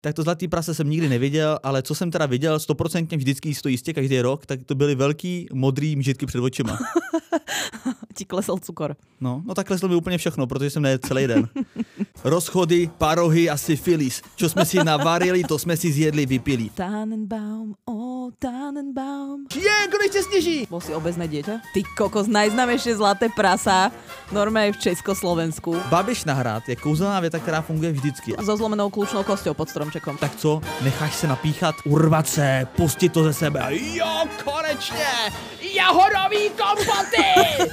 Tak to zlatý prase jsem nikdy neviděl, ale co jsem teda viděl, 100% vždycky jistě každý rok, tak to byly velký modrý mžitky před očima. Ti klesl cukor. No tak kleslo mi úplně všechno, protože jsem nejedl celý den. Rozchody, parohy a syfilis. Čo jsme si navarili, to jsme si zjedli, vypili. Tannenbaum, Tannenbaum. Konečne sneží! Bol si obezné dieťa? Ty kokos, najznámejšie zlaté prasa, normálne v Československu. Babiš na hrad je kouzelná věta, která funguje vždycky. So zlomenou kľúčnou kosťou pod stromčekom. Tak co, necháš se napíchat, urvat se, pustit to ze sebe a jo, konečně, jahodový kompoty!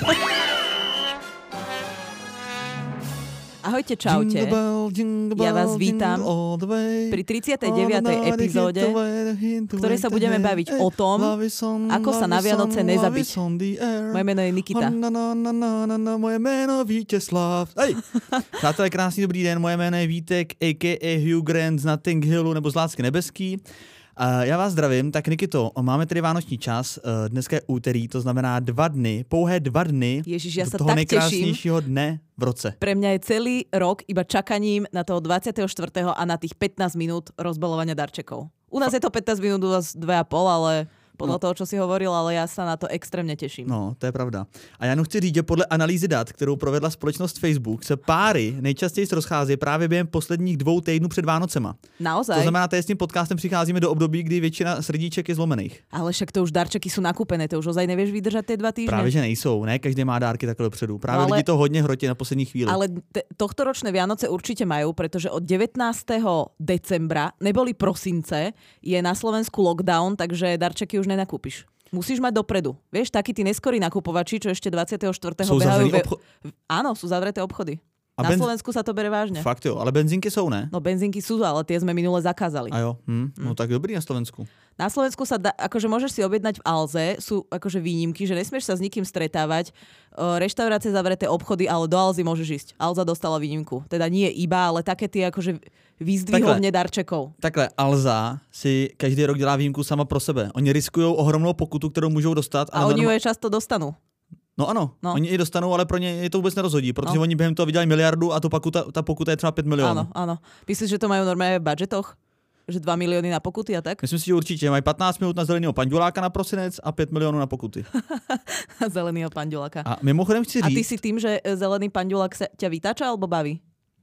Ahojte, čaute. Ja vás vítam pri 39. epizóde, v ktorej sa budeme baviť o tom, ako sa na Vianoce nezabiť. Moje meno je Nikita. Moje meno Vítězslav. Hej! Přátelé, krásný dobrý den, moje jméno je Vítek, a.k.a. Hugh Grant z Notting Hillu nebo z Lásky nebeský. Já vás zdravím, tak Nikito, máme tady vánoční čas, dneska je úterý, to znamená 2 dny, pouhé 2 dny Ježiš, ja do sa toho tak nejkrásnějšího dne v roce. Pre mňa je celý rok iba čakaním na toho 24. a na tých 15 minút rozbalovania darčekov. U nás je to 15 minút, u vás 2,5, ale podľa toho, čo si hovoril, ale ja sa na to extrémně těším. No, to je pravda. A já jenom chci říct, že podle analýzy dat, kterou provedla společnost Facebook, se páry nejčastěji rozcházejí právě během posledních 2 týdnů před Vánocema. Naozaj? To znamená, že s tím podcastem přicházíme do období, kdy většina srdíček je zlomených. Ale však to už darčeky jsou nakúpené, to už ozaj nevieš vydržet ty 2 týždne. Právě že nejsou, ne každý má dárky takhle dopředu. Právě ale, lidi to hodně hrotí na poslední chvíli. Ale tohtoročné Vianoce určite majú, pretože od 19. decembra, neboli prosince, je na Slovensku lockdown, takže darčeky už nenakúpiš. Musíš mať dopredu. Vieš, takí tí neskorí nakupovači, čo ešte 24. behajú. Áno, sú zavreté obchody. Na Slovensku sa to bere vážne. Fakt jo, ale benzínky sú, ne? No benzínky sú, ale tie sme minule zakázali. A jo, no tak dobrý na Slovensku. Na Slovensku sa akože môžeš si objednať v Alze, sú akože výnimky, že nesmieš sa s nikým stretávať, reštaurácie zavreté obchody, ale do Alzy môžeš ísť. Alza dostala výnimku. Teda nie iba, ale také tie akože výzdvihovne darčekov. Takhle, Alza si každý rok dělá výjimku sama pro sebe. Oni riskujou ohromnou pokutu, kterou můžou dostat. A oni ju je často dostanú. No ano, oni ji dostanou, ale pro ně je to vůbec nerozhodí, protože oni během toho vydělají miliardu a ta pokuta je třeba 5 milionů. Áno. Myslíš, že to majú normálne v budžetoch? Že 2 miliony na pokuty a tak? Myslím si, že určitě mají 15 minut na zeleného panduláka na prosinec a 5 milionů na pokuty. Zeleného panduláka. A mimochodem chci říct... A ty si tým, že zelený pandulák sa ťa vytáča alebo baví?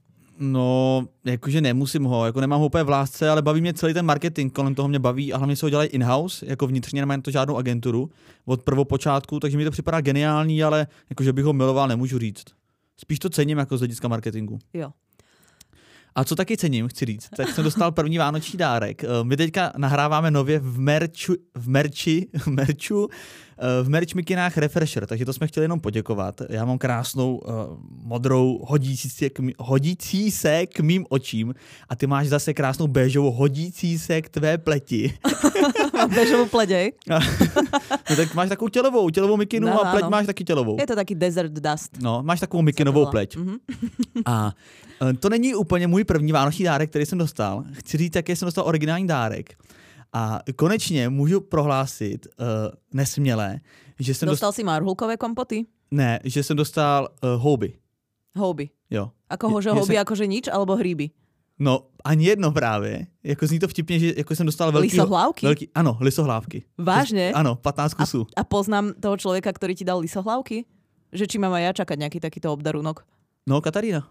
No, jakože nemusím ho, jako nemám ho úplně v lásce, ale baví mě celý ten marketing, kolem toho mě baví a hlavně se ho dělají in-house, jako vnitřně, nemám to žádnou agenturu od prvopočátku, takže mi to připadá geniální, ale jakože bych ho miloval, nemůžu říct. Spíš to cením jako z hlediska marketingu. Jo. A co taky cením, chci říct, tak jsem dostal první vánoční dárek. My teďka nahráváme nově v merch mikinách Refresher, takže to jsme chtěli jenom poděkovat. Já mám krásnou modrou hodící se k mým očím a ty máš zase krásnou béžovou hodící se k tvé pleti. Mám béžovou pleť, No tak máš takovou tělovou mikinu a pleť máš taky tělovou. Je to taky desert dust. No, máš takovou mikinovou pleť. A to není úplně můj první vánoční dárek, který jsem dostal. Chci říct, jaký jsem dostal originální dárek. A konečně můžu prohlásit nesměle, že jsem dostal si marhulkové kompoty? Ne, že jsem dostal houby. Houby? Jo. Akože houby, akože nič, alebo hríby? No, ani jedno právě. Jako zní to vtipně, že jako jsem dostal lisohlávky? Ano, lisohlávky. Vážně? Ano, 15 kusů. A poznám toho člověka, který ti dal lisohlávky? Že či mám aj ja čakať nejaký takýto obdarunok? No, Katarína.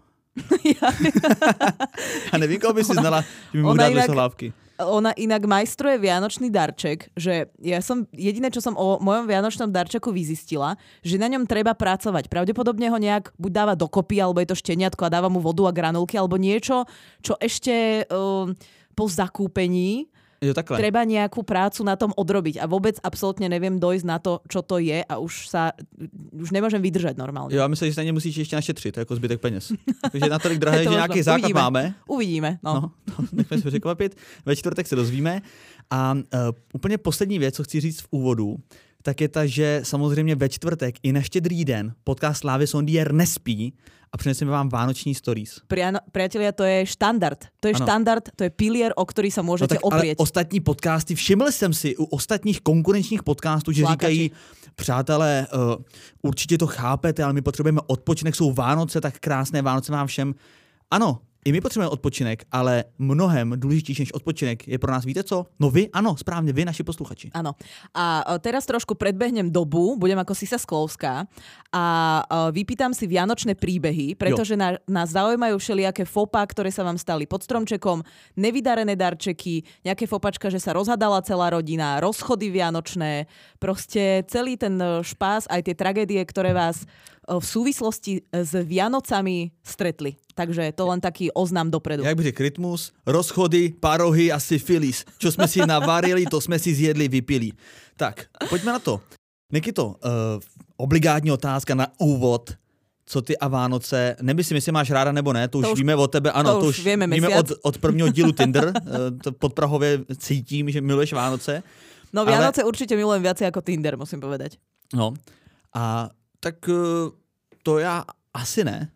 A nevím, koho by si znala, že mi mohu dát lisohlávky. Ona inak majstruje vianočný darček, že ja som jediné, čo som o mojom vianočnom darčeku vyzistila, že na ňom treba pracovať. Pravdepodobne ho nejak buď dáva dokopy, alebo je to šteniatko a dáva mu vodu a granulky, alebo niečo, čo ešte po zakúpení treba nejakú prácu na tom odrobiť. A vôbec absolútne neviem dojsť na to, čo to je a už nemôžem vydržať normálne. Jo, a myslím, že na ně musíš ještě našetřit, jako zbytek peněz. Takže natolik drahé, že nějaký základ máme. Uvidíme. No, nechme se překvapit. Ve čtvrtek se dozvíme. A úplně poslední věc, co chci říct v úvodu, tak je ta, že samozřejmě ve čtvrtek i na Štědrý den podcast Slávy Sondier nespí a přineseme vám vánoční stories. Priatelia, to je štandard. To je štandard, to je pilier, o ktorý sa môžete oprieť. Ale ostatní podcasty, všiml jsem si u ostatních konkurenčních podcastů, že říkají, přátelé, určitě to chápete, ale my potřebujeme odpočinek, jsou Vánoce, tak krásné Vánoce vám všem. Ano, I my potřebujeme odpočinek, ale mnohem důležitější než odpočinek je pro nás, víte co? No vy, ano, správně, vy, naši posluchači. Áno. A teraz trošku predbehnem dobu, budem ako Sisa Sklovská a vypýtam si vianočné príbehy, pretože nás zaujímajú všelijaké fopa, ktoré sa vám stali pod stromčekom, nevydarené darčeky, nejaké fopačka, že sa rozhadala celá rodina, rozchody vianočné, proste celý ten špás, aj tie tragédie, ktoré vás v súvislosti s Vianocami stretli. Takže to len taký oznám dopredu. Jak by řekl Rytmus, rozchody, parohy a syfilis. Čo jsme si navarili, to jsme si zjedli, vypili. Tak, pojďme na to. Nikito, obligátní otázka na úvod. Co ty a Vánoce? Nemyslím, jestli máš ráda nebo ne, to už víme od tebe. Ano, to už víme od prvního dílu Tinder. To podprahově cítím, že miluješ Vánoce. No Vianoce určite milujem viacej ako Tinder, musím povedať. No, a tak to já asi ne.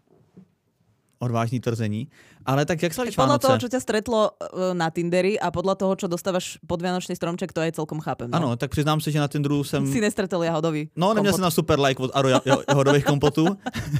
Odvážný tvrzení. Ale tak jak slavíš Vánoce? Podľa toho, čo ťa stretlo na Tinderi a podľa toho, čo dostávaš pod vianočný stromček, to aj celkom chápem. No? Ano, tak přiznám se, že na Tinderu jsem... Si nestretol jahodový No, neměl jsem na super like od Aro jahodových kompotů.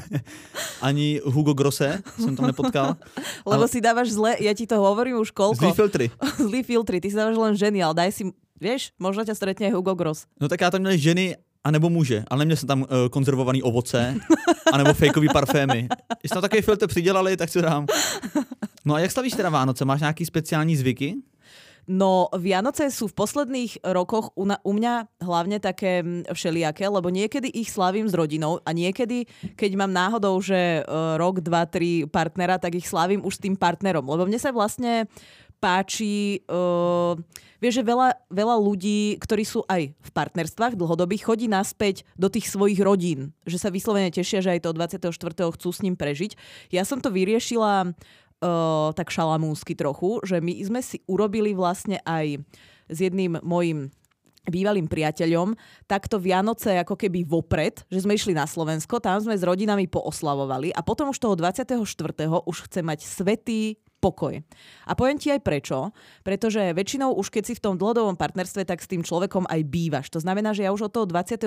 Ani Hugo Grosse jsem tam nepotkal. Lebo si dávaš zle, ja ti to hovorím už koľko. Zlý filtry. Zlý filtry, ty si dávaš len ženy, ale daj si, vieš, možno ťa stretne aj Hugo Gross. No tak já tam měl ženy a nebo muže, ale neměl jsem tam konzervovaný ovoce, anebo fejkový parfémy. Když tam takový filtr přidělali, tak si dám. No a jak slavíš teda Vánoce? Máš nějaký speciální zvyky? No, Vianoce sú v posledných rokoch u mňa hlavne také všelijaké, lebo niekedy ich slávim s rodinou a niekedy, keď mám náhodou, že rok, 2, 3 partnera, tak ich slávim už s tým partnerom. Lebo mne sa vlastne páči, vieš, že veľa ľudí, ktorí sú aj v partnerstvách dlhodobých, chodí naspäť do tých svojich rodín. Že sa vyslovene tešia, že aj to 24. chcú s ním prežiť. Ja som to vyriešila tak šalamúnsky trochu, že my sme si urobili vlastne aj s jedným mojím bývalým priateľom takto Vianoce ako keby vopred, že sme išli na Slovensko, tam sme s rodinami pooslavovali a potom už toho 24. už chcem mať svätý pokoj. A poviem ti aj prečo, pretože väčšinou už keď si v tom dlhodobom partnerstve, tak s tým človekom aj bývaš. To znamená, že ja už od toho 24.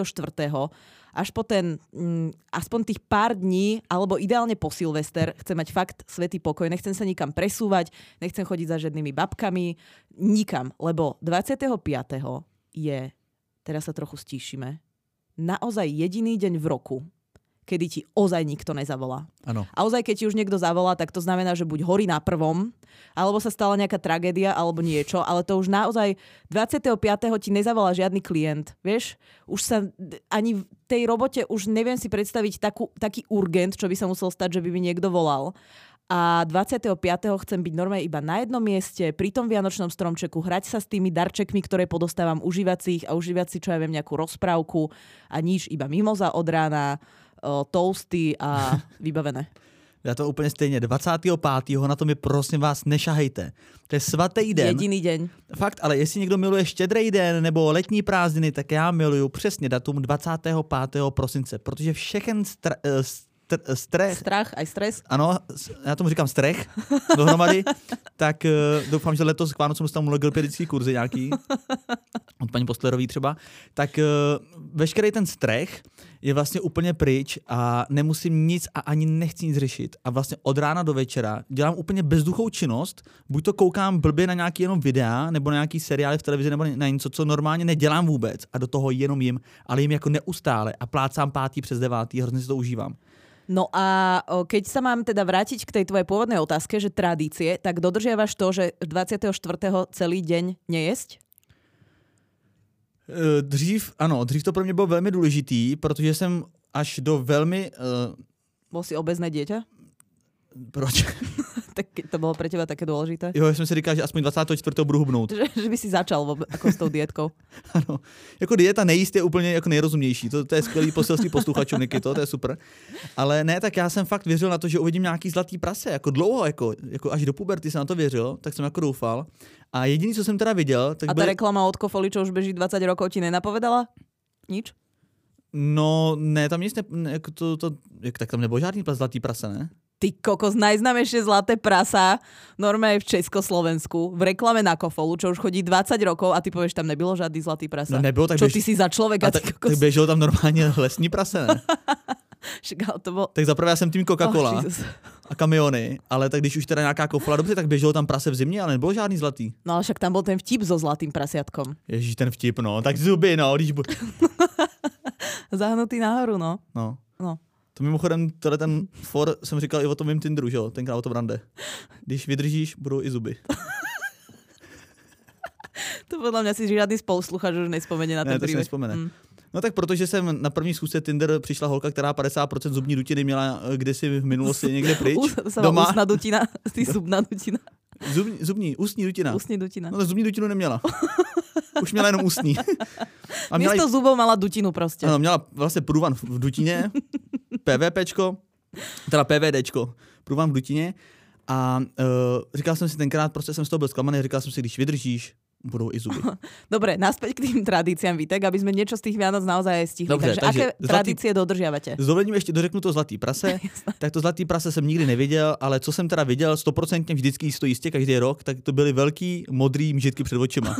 až po ten aspoň tých pár dní, alebo ideálne po Silvester, chcem mať fakt svätý pokoj. Nechcem sa nikam presúvať, nechcem chodiť za žiadnymi babkami, nikam, lebo 25. je, teraz sa trochu stíšime, naozaj jediný deň v roku, kedy ti ozaj nikto nezavolá. Ano. A ozaj, keď ti už niekto zavolá, tak to znamená, že buď horí na prvom, alebo sa stala nejaká tragédia, alebo niečo, ale to už naozaj 25. ti nezavolá žiadny klient, vieš? Už sa ani v tej robote už neviem si predstaviť taký urgent, čo by sa musel stať, že by mi niekto volal. A 25. chcem byť normálne iba na jednom mieste, pri tom vianočnom stromčeku, hrať sa s tými darčekmi, ktoré podostávam, užívať si ich a užívať si, čo ja viem, nejakú rozprávku a nič, iba mimoza od rána, toasty a vybavené. Já to úplně stejně. 25. na to mi prosím vás nešahejte. To je svatý den. Jediný deň. Fakt, ale jestli někdo miluje štědrý den nebo letní prázdniny, tak já miluju přesně datum 25. prosince, protože všechen strach, aj stres. Ano, já tomu říkám strech dohromady, tak doufám, že letos k Vánocům dostanu logopedický kurzy nějaký, od paní Postlerový třeba, tak veškerý ten strech je vlastně úplně pryč a nemusím nic a ani nechci nic řešit. A vlastně od rána do večera dělám úplně bezduchou činnost, buď to koukám blbě na nějaký jenom videa, nebo na nějaký seriály v televizi, nebo na něco, co normálně nedělám vůbec a do toho jenom jim, ale jim jako neustále a plácám 5. přes 9. hrozně si to užívám. No a keď sa mám teda vrátiť k tej tvojej pôvodnej otázke, že tradície, tak dodržiavaš to, že 24. celý deň nejesť? Dřív to pro mě bylo velmi důležitý, protože jsem až do velmi... Bol si obezné dieťa? Proč? Tak to bolo pre teba také dôležité? Jo, já jsem si říkal, že aspoň 24. budu hubnout. Že by si začal ako s tou dietkou. Ano. Jako dieta nejíst je úplně jako nejrozumnější. To je skvělý poselství posluchačů, Nikito, to je super. Ale ne, tak já jsem fakt věřil na to, že uvidím nějaký zlatý prase. Jako dlouho, jako až do puberty jsem na to věřil, tak jsem jako doufal. A jediný, co jsem teda viděl... Tak a tá reklama od Kofoli, čo už beží 20 rokov, ti nenapovedala? Nič? No, ne, tam nic tak tam nebylo žádný zlatý prase, ne? Ty kokos, najznámejšie zlaté prasa normálne v Československu, v reklame na Kofolu, čo už chodí 20 rokov a ty povieš, tam nebylo žádný zlatý prasa. No nebylo, tak čo ty si za človeka, ty kokos? Tak běželo tam normálně lesní prase, ne? To bol... Tak zaprvé já jsem tým Coca-Cola. a kamiony, ale tak když už teda nějaká kofla, dobře, tak běželo tam prase v zimě, ale nebylo žádný zlatý. No ale však tam byl ten vtip so zlatým prasiatkom. Ježíš, ten vtip, no, tak zuby, no, když Zahnutý nahoru, no. No. No. To mimochodem, ten for jsem říkal i o tom mým Tinderu, že jo, tenkrát o tom rande. Když vydržíš, budou i zuby. To podľa mňa si žiadny spoluslúchač už nespomenie na ten príbeh. Ne, to si nespomene. No tak protože jsem na první schůzce Tinder přišla holka, která 50% zubní dutiny měla kdysi v minulosti někde pryč. Doma. Ústna dutina, ty zubná dutina. Ústní dutina. Ústní dutina. No tak zubní dutinu neměla. Už měla jenom ústní. A místo zubov mala dutinu prostě. Ano, měla vlastně průvan v dutině, PVPčko, teda PVDčko, průvan v dutině a říkal jsem si tenkrát, prostě jsem z toho byl zklamaný, říkal jsem si, když vydržíš, budou i zuby. Dobre, naspäť k tým tradíciám, Vítek, aby sme niečo z tých Vianoc naozaj stihli. Dobře, takže aké tradície dodržiavate? S dovolením ještě dořeknu to zlatý prase. Tak to zlatý prase jsem nikdy neviděl, ale co jsem teda viděl, 100% vždycky to jistě každý rok, tak to byly velký modrý mžitky před očima.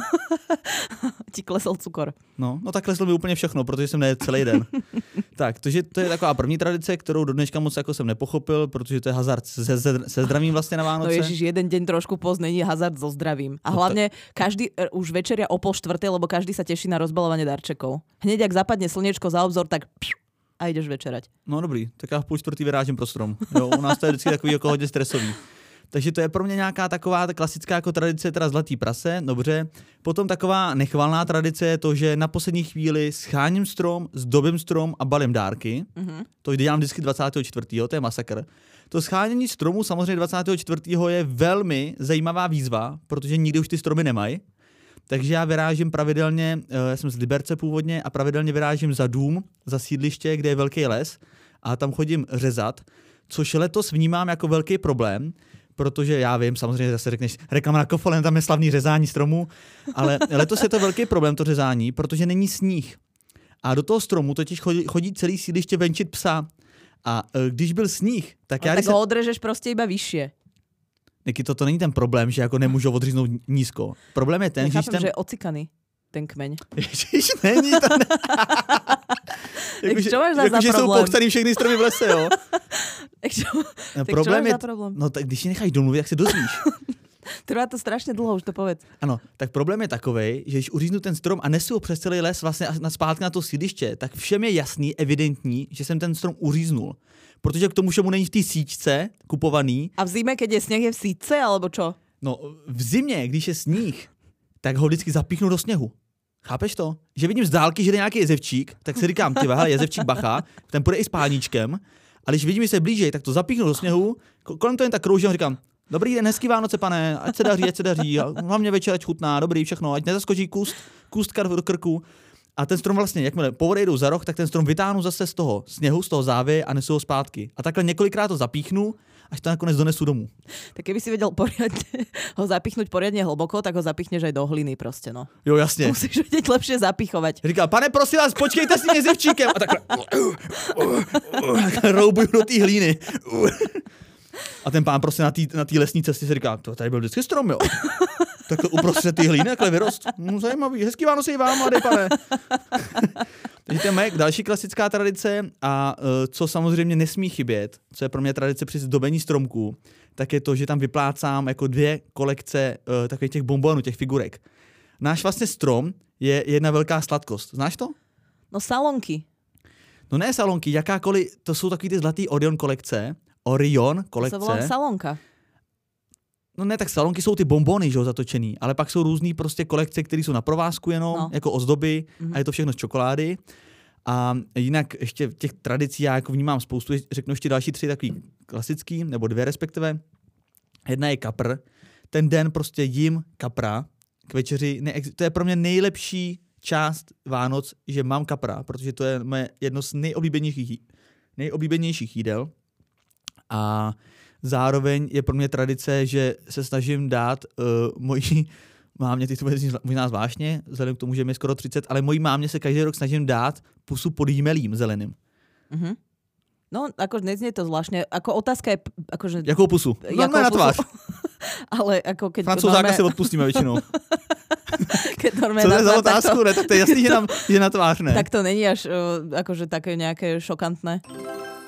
Ti klesl cukor. No tak klesl mi úplně všechno, protože jsem nejedl celý den. Tak, to je taková první tradice, kterou do dneška moc jako jsem nepochopil, protože to je hazard se zdravím vlastně na Vánoce. No ježiš, jeden deň trošku poz není hazard so zdravím. A hlavne každý už večeria o 3:30, lebo každý sa teší na rozbalovanie darčekov. Hneď ak zapadne slniečko za obzor, tak a ideš večerať. No dobrý, tak já v 3:30 vyrážím pro strom. Jo, u nás to je vždycky takový jako hodně stresový. Takže to je pro mě nějaká taková klasická jako tradice, teda zlatý prase, dobře. Potom taková nechvalná tradice je to, že na poslední chvíli scháním strom, zdobím strom a balím dárky. Mm-hmm. To dělám vždycky 24. To je masakr. To schánění stromu samozřejmě 24. je velmi zajímavá výzva, protože nikdy už ty stromy nemají. Takže já vyrážím pravidelně, já jsem z Liberce původně a pravidelně vyrážím za dům, za sídliště, kde je velký les a tam chodím řezat, což letos vnímám jako velký problém, protože já vím, samozřejmě zase řekneš, reklama na Kofolen, tam je slavný řezání stromů, ale letos je to velký problém, to řezání, protože není sníh. A do toho stromu totiž chodí celý sídliště venčit psa. A když byl sníh, tak já... Tak ho odrežeš prostě iba vyššie. Niky, to není ten problém, že jako nemůžu odříznout nízko. Problém je ten, že je ocikaný ten kmeň. Ježiš, není to... Čo máš za problém? Že jsou popsaný všechny stromy v lese, jo. Problém je... Problém? No tak když si necháš domluvit, jak se dozvíš. Trvá to strašně dlouho, už to povedz. Ano, tak problém je takovej, že když uříznu ten strom a nesu ho přes celý les vlastně zpátky na to sídliště, tak všem je jasný, evidentní, že jsem ten strom uříznul. Protože k tomu všemu není v té síťce kupovaný. A v zime, keď je sněh, je v síťce, alebo čo? No, v zimě, když je sníh, tak ho vždycky zapíchnu do sněhu. Chápeš to? Že vidím z dálky, že jde nějaký jezevčík, tak si říkám, ty hele, jezevčík bacha, ten půjde i s páníčkem, a když vidím, že se blíží, tak to zapíchnu do sněhu, kolem to jen tak kroužím a říkám, dobrý den, hezký Vánoce, pane, ať se daří, hlavně večer, ať chutná, dobrý, všechno, ať nezaskočí kůstka do krku. A ten strom vlastně, jakmile povodejdou za roh, tak ten strom vytáhnu zase z toho sněhu, z toho závě a nesu ho zpátky. A takhle několikrát to zapíchnu, až to nakonec donesu domů. Tak keby si vedel poriadne ho zapichnúť poriadne hlboko, tak ho zapichneš aj do hliny prostě, no. Jo, jasně. Musíš vedieť lepšie zapichovať. Říká, pane, prosím vás, počkejte si mě jezevčíkem. A takhle roubuju do té hlíny. A ten pán prostě na té lesní cestě si říká, to tady byl vždycky strom, jo. Tak to uprostřed té hlíny, takhle vyrost. No, zajímavý, hezký Vánoce i vám, mladý pane. Takže to je moje další klasická tradice a co samozřejmě nesmí chybět, co je pro mě tradice při zdobení stromků, tak je to, že tam vyplácám jako 2 kolekce takových těch bonbonů, těch figurek. Náš vlastně strom je jedna velká sladkost. Znáš to? No salonky. No ne salonky, jakákoliv, to jsou takový ty zlatý Orion kolekce. To se volá salonka. No ne, tak salonky jsou ty bonbony, že jo, zatočený, ale pak jsou různý prostě kolekce, které jsou na provázku jenom, jako ozdoby a je to všechno z čokolády. A jinak ještě těch tradicí já jako vnímám spoustu, řeknu ještě další 3 takový klasický, nebo 2 respektive. Jedna je kapr. Ten den prostě jím kapra k večeři. To je pro mě nejlepší část Vánoc, že mám kapra, protože to je moje jedno z nejoblíbenějších jídel. A zároveň je pro mě tradice, že se snažím dát mojí mámě, ty to bude možná zvláštně, vzhledem k tomu, že mi je skoro 30, ale mojí mámě se každý rok snažím dát pusu pod jímelím zeleným. Mm-hmm. No, ako neznie to zvláštne. Ako otázka je... Akože, jakou pusu? No, na tvář. Ale ako keď... Francouzáka si odpustíme většinou. Co to je za otázku? Ne, tak to je jasný, že na tvář ne. Tak to není až akože také nejaké šokantné.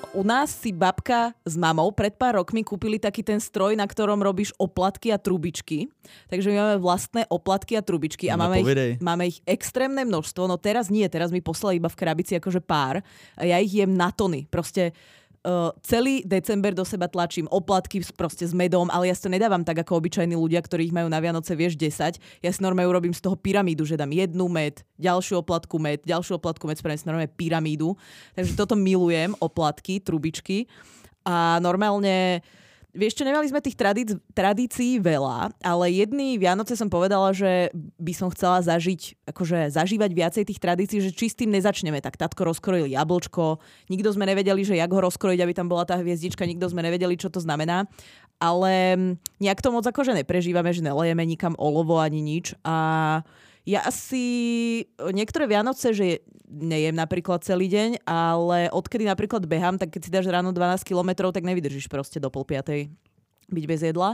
U nás si babka s mamou pred pár rokmi kúpili taký ten stroj, na ktorom robíš oplatky a trubičky. Takže my máme vlastné oplatky a trubičky a máme ich extrémne množstvo. No teraz nie, teraz mi poslali iba v krabici akože pár. A ja ich jem na tony. Proste celý december do seba tlačím oplatky proste s medom, ale ja si to nedávam tak ako obyčajní ľudia, ktorí ich majú na Vianoce, vieš, 10. Ja si normálne urobím z toho pyramídu, že dám jednu med, ďalšiu oplatku med, spravím si normálne pyramídu. Takže toto milujem, oplatky, trubičky. A normálne, vieš čo, nemali sme tých tradícií veľa, ale jedný Vianoce som povedala, že by som chcela zažívať viacej tých tradícií, že či s tým nezačneme. Tak tatko rozkrojil jablčko, nikto sme nevedeli, že jak ho rozkrojiť, aby tam bola tá hviezdička, nikto sme nevedeli, čo to znamená. Ale nejak to moc akože neprežívame, že nelejeme nikam olovo ani nič. A ja asi niektoré Vianoce, že nejem napríklad celý deň, ale odkedy napríklad behám, tak keď si dáš ráno 12 kilometrov, tak nevydržíš proste do 4:30 byť bez jedla.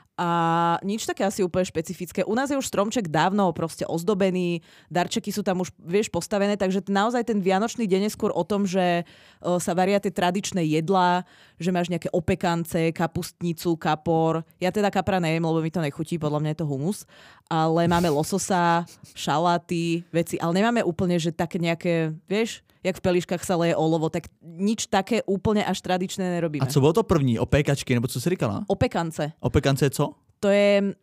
A nič také asi úplne špecifické. U nás je už stromček dávno proste ozdobený, darčeky sú tam už, vieš, postavené, takže naozaj ten vianočný deň je skôr o tom, že sa varia tie tradičné jedlá, že máš nejaké opekance, kapustnicu, kapor. Ja teda kapra nejem, lebo mi to nechutí, podľa mňa je to humus. Ale máme lososa, šaláty, veci, ale nemáme úplne, že také nejaké, vieš, jak v peliškách sa leje olovo, tak nič také úplně až tradičné nerobíme. A co bylo to první? Opékačky, nebo co jsi říkala? Opekance. Opekance je co? To je...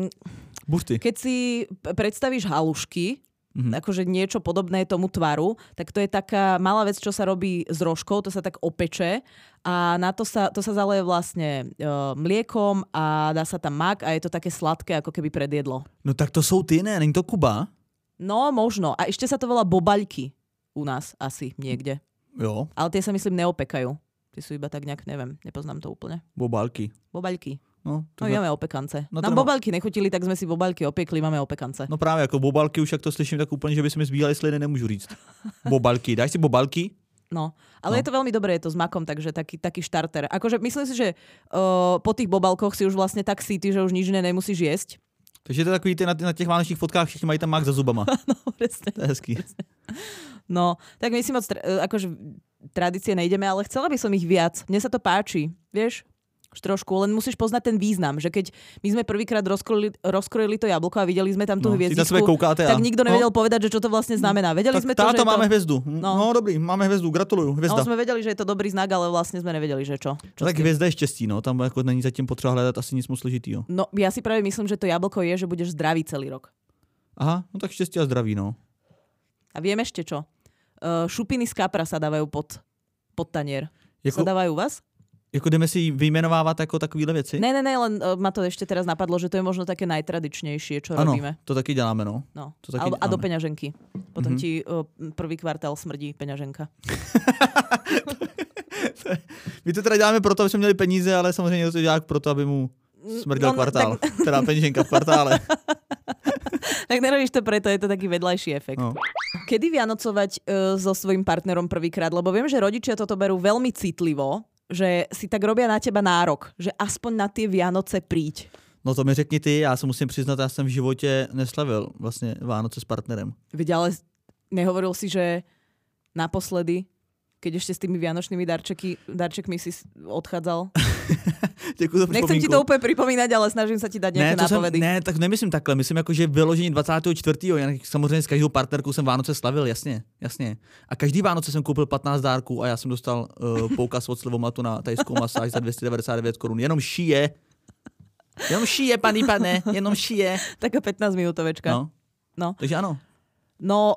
Buřty. Keď si predstavíš halušky, akože niečo podobné tomu tvaru, tak to je taká malá vec, čo sa robí s rožkou, to sa tak opeče a na to sa zaleje vlastne mliekom a dá sa tam mak a je to také sladké, ako keby pred jedlo. No tak to jsou ty, ne? Není to Kuba? No, možno. A ešte sa to volá bobaľky. U nás asi niekde. Jo. Ale tie sa myslím neopekajú. Tie sú iba tak nejak, neviem, nepoznám to úplne. Bobaľky. Bobaľky. No máme opekance. Nám bobaľky nechutili, tak sme si bobaľky opiekli, máme opekance. No právě, jako bobaľky už jak to slyším, tak úplně, že by se mi zbíjali sliny, nemůžu říct. Bobaľky. Dáš si bobaľky? No, ale je to veľmi dobré, je to s makom, takže taký štarter. Akože myslím si, že po tých bobalkoch si už vlastne tak síty, že už nič nemusíš jesť. Takže to je takový, na těch vánočních fotkách všichni mají tam mák za zubama. No, presne. To je hezký. Presne. No, tak my si moc akože tradície nejdeme, ale chcela by som ich viac. Mne sa to páči, vieš? Už trošku, len musíš poznať ten význam, že keď my sme prvýkrát rozkrojili to jablko a videli sme tam tú hviezdičku, tak nikto nevedel povedať, že čo to vlastne znamená. Vedeli sme to, že máme hviezdu. No dobrý, máme hviezdu, gratuluju, hviezda. No sme vedeli, že je to dobrý znak, ale vlastne sme nevedeli, že čo. Tak hviezda je štěstí, no, tam jako není zatím potřeba hledat asi nic moc složitýho. No, ja si práve myslím, že to jablko je, že budeš zdravý celý rok. Aha, no tak štěstí a zdraví, no. A viem ešte čo? Šupiny z kapra sa dávajú pod tanier. Sa dávajú u vás? Jako jdeme si vyjmenovávat jako takovýhle věci? Ne, len ma to ešte teraz napadlo, že to je možno také najtradičnejšie, čo robíme. To taky děláme, no. To taky a do peňaženky. Potom ti prvý kvartál smrdí peňaženka. My to teda děláme proto, aby jsme měli peníze, ale samozřejmě to dělá proto, aby mu smrdil kvartál. Teda peňaženka v kvartále. Tak nerobíš to preto, je to taký vedľajší efekt. No. Kedy vianocovať so svojím partnerom prvýkrát? Lebo viem, že rodičia toto berú veľmi citlivo, že si tak robia na teba nárok, že aspoň na tie Vianoce príď. No to mi řekni ty, já se musím přiznat, já jsem v životě neslavil vlastně Vánoce s partnerem. Veď ale nehovoril si, že naposledy, keď ešte s tými vianočnými darčekmi si odchádzal? Nechcem ti to úplně připomínat, ale snažím se ti dát nějaké nápovedy. Ne, tak nemyslím takhle. Myslím jako, že vyložení 24. Jinak samozřejmě s každou partnerkou jsem Vánoce slavil, jasně. A každý Vánoce jsem koupil 15 dárků a já jsem dostal poukaz od Slevomatu na tajskou masáž za 299 korun. Jenom šije, paní pane, jenom šije. Taká 15 minutovečka. No. Takže ano. No,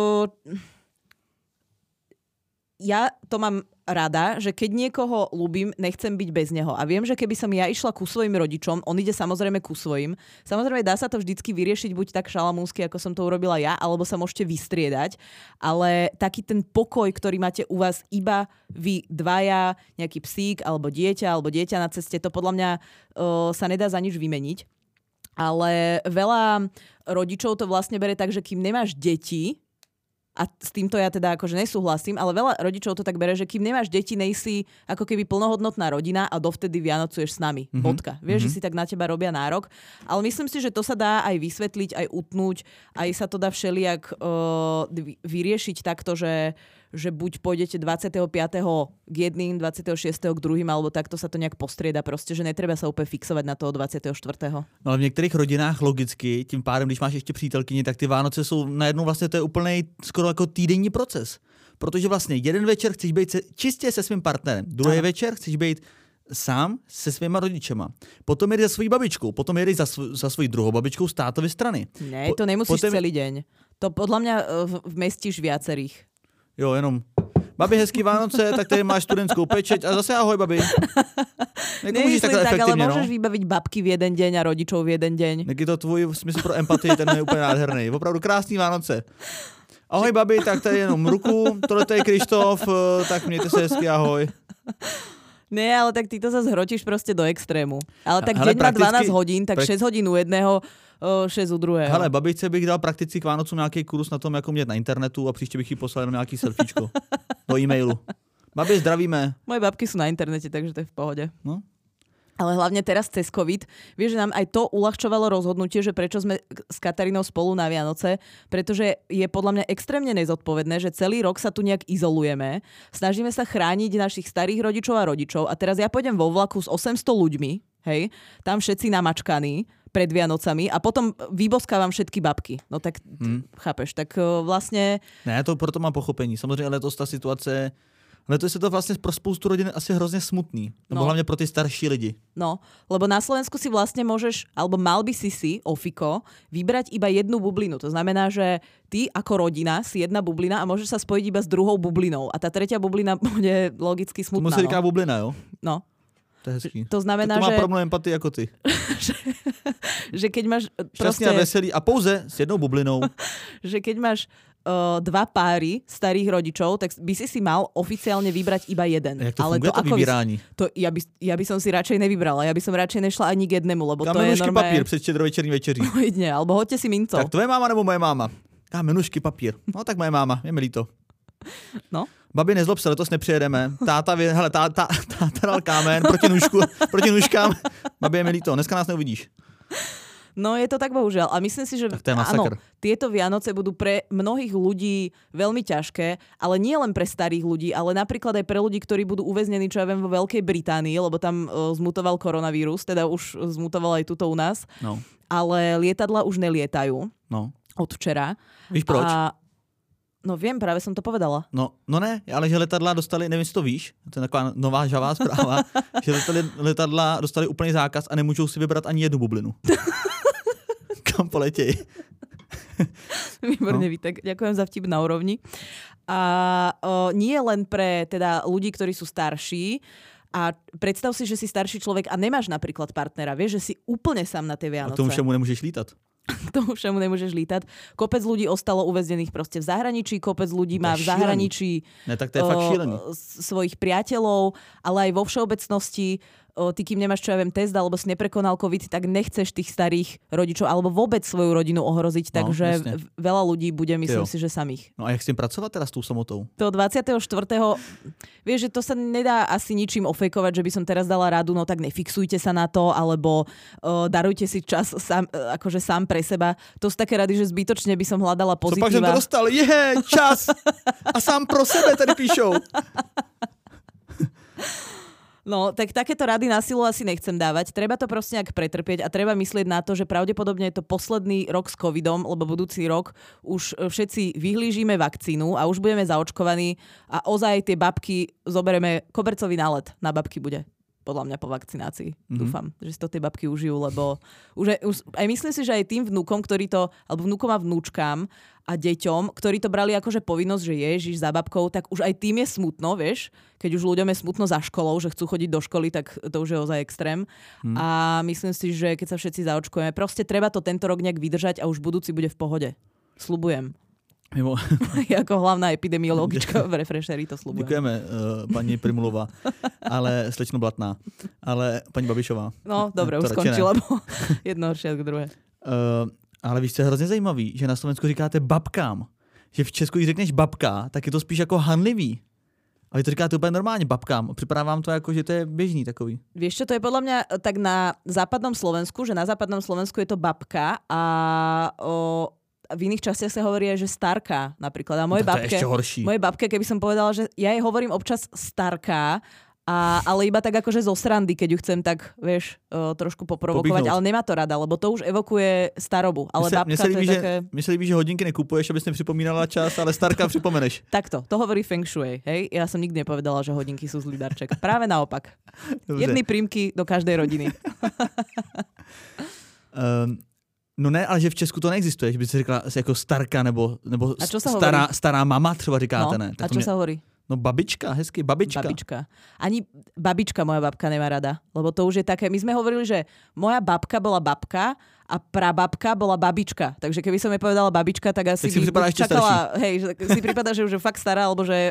ja to mám rada, že keď niekoho ľúbim, nechcem byť bez neho. A viem, že keby som ja išla ku svojim rodičom, on ide samozrejme ku svojim. Samozrejme dá sa to vždycky vyriešiť buď tak šalamúnsky, ako som to urobila ja, alebo sa môžete vystriedať. Ale taký ten pokoj, ktorý máte u vás iba vy dvaja, nejaký psík, alebo dieťa na ceste, to podľa mňa sa nedá za nič vymeniť. Ale veľa rodičov to vlastne bere tak, že kým nemáš deti, a s týmto ja teda akože nesúhlasím, ale veľa rodičov to tak bere, že kým nemáš deti, nejsi ako keby plnohodnotná rodina a dovtedy vianocuješ s nami. Bodka. Vieš, že si tak na teba robia nárok. Ale myslím si, že to sa dá aj vysvetliť, aj utnúť, aj sa to dá všelijak vyriešiť takto, že že buď pôjdete 25. k jedným, 26. k druhým, alebo takto sa to nejak postrieda proste, že netreba sa úplne fixovať na toho 24. No ale v některých rodinách logicky, tím pádem, když máš ještě přítelkyni, tak ty Vánoce jsou najednou vlastně to je úplný skoro jako týdenní proces. Protože vlastně jeden večer chceš být čistě se svým partnerem, druhý večer chceš být sám se svýma rodičema. Potom jedeš za svojí babičkou, potom jedeš za svojí druhou babičkou z tátovy strany. Ne, to nemusíš celý deň. To podľa mňa vmestíš viacerých. Jo, jenom babi, hezký Vánoce, tak tady máš studentskou pečeť a zase ahoj, babi. Nemyslím tak, ale môžeš vybaviť babky v jeden deň a rodičov v jeden deň. Je to tvůj smysl pro empatii, ten je úplně nádherný. Opravdu krásný Vánoce. Ahoj, babi, tak tady jenom ruku, tohle je Krištof, tak mějte se hezky, ahoj. Nie, ale tak ty to zase hrotíš proste do extrému. Ale tak deň má 12 hodín, tak 6 hodín u jedného, 6 u druhého. Hele, babičce bych dal prakticky k Vánocům nějaký kurz na tom, jako mět na internetu a příště bych jí poslal jenom nějaký selfiečko do e-mailu. Babi, zdravíme. Moje babky sú na internete, takže to je v pohode. No. Ale hlavne teraz cez COVID, vieš, že nám aj to uľahčovalo rozhodnutie, že prečo sme s Katarínou spolu na Vianoce, pretože je podľa mňa extrémne nezodpovedné, že celý rok sa tu nejak izolujeme, snažíme sa chrániť našich starých rodičov a rodičov a teraz ja pôjdem vo vlaku s 800 ľuďmi, hej, tam všetci namačkaní pred Vianocami a potom vyboskávam všetky babky. No tak chápeš, tak vlastne... Ne, to proto mám pochopení. Samozřejmě letos ta situace... Letos je to vlastně pro spoustu rodin asi hrozně smutný. Nebo hlavně pro ty starší lidi. No, lebo na Slovensku si vlastne môžeš, alebo mal by si Ofiko, vybrať iba jednu bublinu. To znamená, že ty ako rodina si jedna bublina a môžeš sa spojiť iba s druhou bublinou. A tá tretia bublina bude logicky smutná. Tomu se říká bublina, jo? No. To je hezký. To znamená, to má že... podobnou empatii jako ty. že keď máš šťastný a veselý a pouze s jednou bublinou. Že keď máš dva páry starých rodičov, tak by si mal oficiálne vybrať iba jeden. Jak to funguje to vybírání? Ja by som si radšej nevybrala. Ja by som radšej nešla ani k jednému, lebo to je normálne... papír před štědrovečerní večeří. No jedne, alebo hoďte si minco. Tak tvoje máma nebo moje máma? Menušky, papír. No tak moje máma, je mi líto. No. Babi, nezlob se, letos nepřijedeme. Táta dal kámen proti nůžkám. Babi, je mi líto, dneska nás neuvidíš. No je to tak bohužiaľ. A myslím si, že áno, tieto Vianoce budú pre mnohých ľudí veľmi ťažké, ale nie len pre starých ľudí, ale napríklad aj pre ľudí, ktorí budú uväznení, čo ja viem, vo Veľkej Británii, lebo tam zmutoval koronavírus, teda už zmutoval aj tuto u nás. No. Ale lietadla už nelietajú. No. Od včera. Víš proč? No viem, práve som to povedala. No ne, ale že letadla dostali, nevím, jestli to víš, to je taková nová žavá zpráva, že letadla dostali úplný zákaz a nemůžou si vybrat ani jednu bublinu. Kam poletěj. Výborne, Vítek. Ďakujem za vtip na úrovni. A nie len pre teda ľudí, ktorí sú starší, a predstav si, že si starší človek a nemáš napríklad partnera. Vieš, že si úplne sám na tie Vianoce. A tomu všemu nemôžeš lítať. Tomu všemu nemôžeš lítať. Kopec ľudí ostalo uväznených proste v zahraničí, kopec ľudí má v zahraničí tak to je fakt šílený. Svojich priateľov, ale aj vo všeobecnosti ty, kým nemáš, čo ja viem, test, alebo si neprekonal COVID, tak nechceš tých starých rodičov alebo vôbec svoju rodinu ohroziť, takže veľa ľudí bude, myslím si, že samých. No a jak s tým pracovať teraz s tou samotou? To 24. Vieš, že to sa nedá asi ničím ofejkovať, že by som teraz dala radu, no tak nefixujte sa na to, alebo darujte si čas akože sám pre seba. To sú také rady, že zbytočne by som hľadala pozitíva. Co pak som to dostal? Čas! A sám pro sebe tady píšou. No, tak takéto rady na silu asi nechcem dávať. Treba to proste nejak pretrpieť a treba myslieť na to, že pravdepodobne je to posledný rok s covidom, lebo budúci rok už všetci vyhlížime vakcínu a už budeme zaočkovaní a ozaj tie babky zoberieme, kobercový nálet na babky bude. Podľa mňa po vakcinácii. Dúfam, že si to tie babky užijú, lebo už aj myslím si, že aj tým vnúkom, ktorí to, alebo vnúkom a vnúčkám a deťom, ktorí to brali akože povinnosť, že ježiš za babkou, tak už aj tým je smutno, vieš? Keď už ľuďom je smutno za školou, že chcú chodiť do školy, tak to už je ozaj extrém. A myslím si, že keď sa všetci zaočkujeme, proste treba to tento rok nejak vydržať a už budúci bude v pohode. Sľubujem. Jako hlavná epidemiologička v Refresheri to sľubujem. Děkujeme, paní Primulová, ale slečno Blatná, ale paní Babišová. No, dobre, už skončila, bo jedno horšie ako druhé. Ale víš, co je hrozně zajímavý, že na Slovensku říkáte babkám. Že v Česku, když řekneš babka, tak je to spíš jako hanlivý. A vy to říkáte úplně normálně babkám. Připadá vám to jako, že to je běžný takový. Vieš čo, to je podľa mňa tak na západnom Slovensku, že na západnom Slovensku je to babka a v iných častiach sa hovorí aj, že starka napríklad. A To je ešte horší. Mojej babke, keby som povedala, že ja jej hovorím občas starka, ale iba tak akože zo srandy, keď ju chcem tak, vieš, trošku poprovokovať, ale nemá to rada, lebo to už evokuje starobu. Ale babka to je také... Mne sa líbí, že hodinky nekupuješ, aby si nepřipomínala čas, ale starka připomeneš. Takto, to hovorí Feng Shui, hej? Ja som nikdy nepovedala, že hodinky sú zlý darček. Práve naopak. Jedny prímky do každej rodiny. No ne, ale že v Česku to neexistuje, že by si řekla asi jako starka nebo stará mama třeba říkáte, ne? Tak a čo sa hovorí? No babička, hezky, babička. Ani babička moja babka nemá rada, lebo to už je také, my sme hovorili, že moja babka bola babka a prababka bola babička. Takže keby som jej povedala babička, tak asi by čakala, hej, že si prípada, že už je fakt stará, alebo že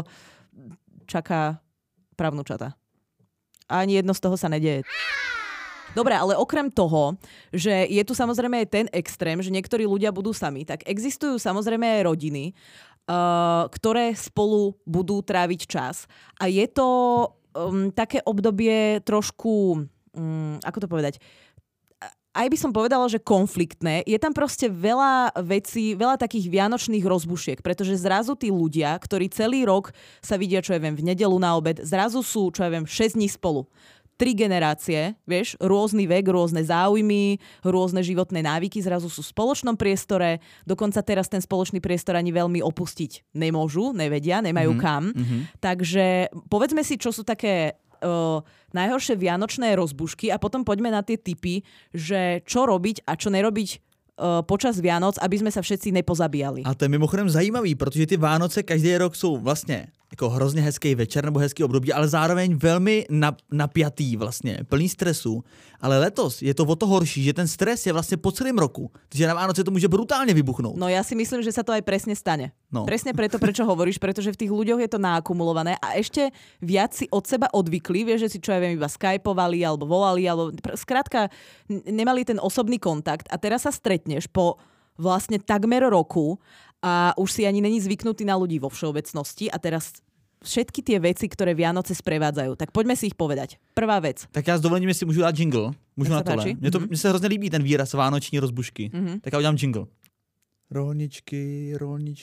čaká pravnúčata. A ani jedno z toho sa nedieje. Dobre, ale okrem toho, že je tu samozrejme aj ten extrém, že niektorí ľudia budú sami, tak existujú samozrejme aj rodiny, ktoré spolu budú tráviť čas. A je to také obdobie trošku, ako to povedať, aj by som povedala, že konfliktné. Je tam proste veľa vecí, veľa takých vianočných rozbušiek, pretože zrazu tí ľudia, ktorí celý rok sa vidia, čo ja viem, v nedeľu na obed, zrazu sú, čo ja viem, 6 dní spolu. 3 generácie, vieš, rôzny vek, rôzne záujmy, rôzne životné návyky zrazu sú v spoločnom priestore, dokonca teraz ten spoločný priestor ani veľmi opustiť nemôžu, nevedia, nemajú kam. Takže povedzme si, čo sú také najhoršie vianočné rozbušky a potom poďme na tie tipy, že čo robiť a čo nerobiť počas Vianoc, aby sme sa všetci nepozabíjali. A to je mimochodem zajímavý, protože ty Vánoce každý rok jsou vlastně jako hrozně hezký večer nebo hezký období, ale zároveň velmi napjatý vlastně, plný stresu. Ale letos je to o to horší, že ten stres je vlastně po celém roku. Takže na Vánoce to může brutálně vybuchnout. No ja si myslím, že sa to aj presne stane. No. Presne preto, prečo hovoríš, pretože v tých ľuďoch je to naakumulované a ešte viac si od seba odvykli, vieš, že si čo ja viem, iba skypovali alebo volali, alebo skrátka nemali ten osobný kontakt a teraz sa stretneš po vlastne takmer roku a už si ani není zvyknutý na ľudí vo všeobecnosti a teraz všetky tie veci, ktoré Vianoce sprevádzajú. Tak poďme si ich povedať. Prvá vec. Tak já s dovolením si můžu dát jingle. Můžu na tohle. Mně se hrozně líbí ten výraz vánoční rozbušky. Tak já udělám jingle. Rolničky.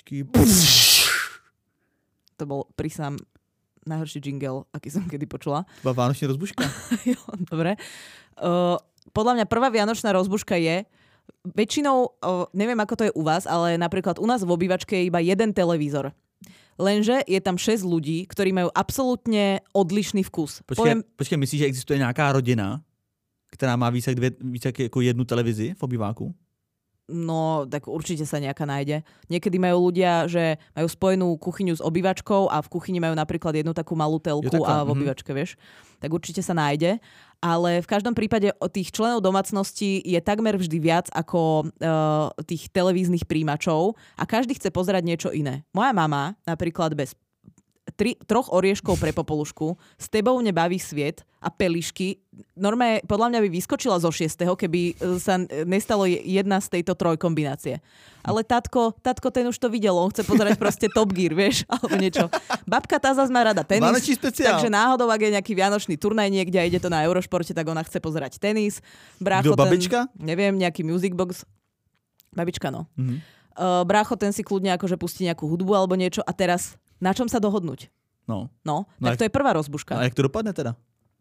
To bol prísam najhorší jingle, aký som kedy počula. To bola vánočná rozbuška. Jo, dobre. Podľa mňa prvá vianočná rozbuška je väčšinou, neviem ako to je u vás, ale napríklad u nás v obývačke je iba jeden televízor. Lenže je tam 6 ľudí, ktorí majú absolútne odlišný vkus. Počkej, myslíš, že existuje nějaká rodina, která má víc jako jednu televizi v obýváku? No, tak určite sa nejaká nájde. Niekedy majú ľudia, že majú spojenú kuchyňu s obývačkou a v kuchyni majú napríklad jednu takú malú telku a v obývačke, vieš. Tak určite sa nájde. Ale v každom prípade tých členov domácnosti je takmer vždy viac ako tých televíznych príjimačov a každý chce pozerať niečo iné. Moja mama napríklad bez 3 orieškov pre popolušku, S tebou nebaví sviet a pelišky. Normálne, podľa mňa by vyskočila zo 6., keby sa nestalo jedna z tejto trojkombinácie. Ale tatko ten už to videl, on chce pozerať proste Top Gear, vieš, alebo niečo. Babka tá zase má rada tenis, takže náhodou, ak je nejaký vianočný turnaj niekde a ide to na Eurošporte, tak ona chce pozerať tenis. Brácho, babička? Neviem, nejaký music box. Babička, no. Brácho, ten si kľudne akože pustí nejakú hudbu alebo niečo a teraz na čom sa dohodnúť? No, tak to je prvá rozbuška. A jak to dopadne teda?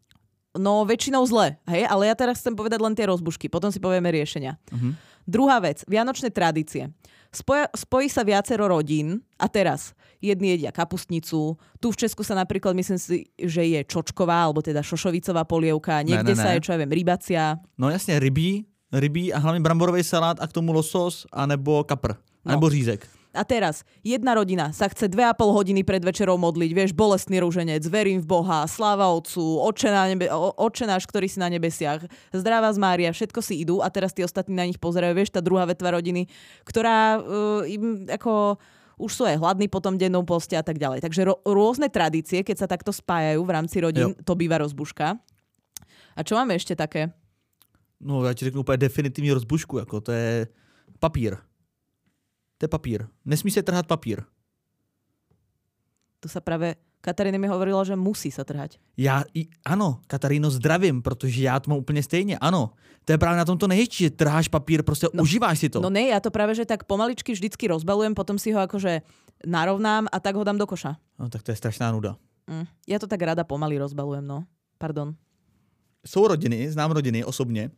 No väčšinou zle, hej? Ale ja teraz chcem povedať len tie rozbušky, potom si povieme riešenia. Druhá vec, vianočné tradície. Spojí sa viacero rodín a teraz jedni jedia kapustnicu, tu v Česku sa napríklad myslím si, že je čočková, alebo teda šošovicová polievka, niekde sa je, čo ja viem, rybacia. No jasne, rybí a hlavne bramborový salát a k tomu losos, anebo kapr, anebo řízek. A teraz, jedna rodina sa chce 2,5 hodiny pred večerou modliť, vieš, bolestný ruženec, verím v Boha, sláva Otcu, Otče náš, ktorý si na nebesiach, zdravá z Mária, všetko si idú a teraz tí ostatní na nich pozerajú, vieš, tá druhá vetva rodiny, ktorá im ako už sú aj hladní po tom dennom poste a tak ďalej. Takže rôzne tradície, keď sa takto spájajú v rámci rodín, to býva rozbuška. A čo máme ešte také? No, já ti řeknu úplně definitivní rozbušku, jako to je papír. To je papír. Nesmí se trhat papír. To sa práve Katarína mi hovorila, že musí sa trhať. Ano, Kataríno, zdravím, protože já to mám úplně stejně, ano. To je právě na tom to nejhezčí, že trháš papír, prostě užíváš si to. No ne, ja to práve, že tak pomaličky vždycky rozbalujem, potom si ho akože narovnám a tak ho dám do koša. No tak to je strašná nuda. Ja to tak rada pomaly rozbalujem, no. Pardon. Jsou rodiny, znám rodiny osobně,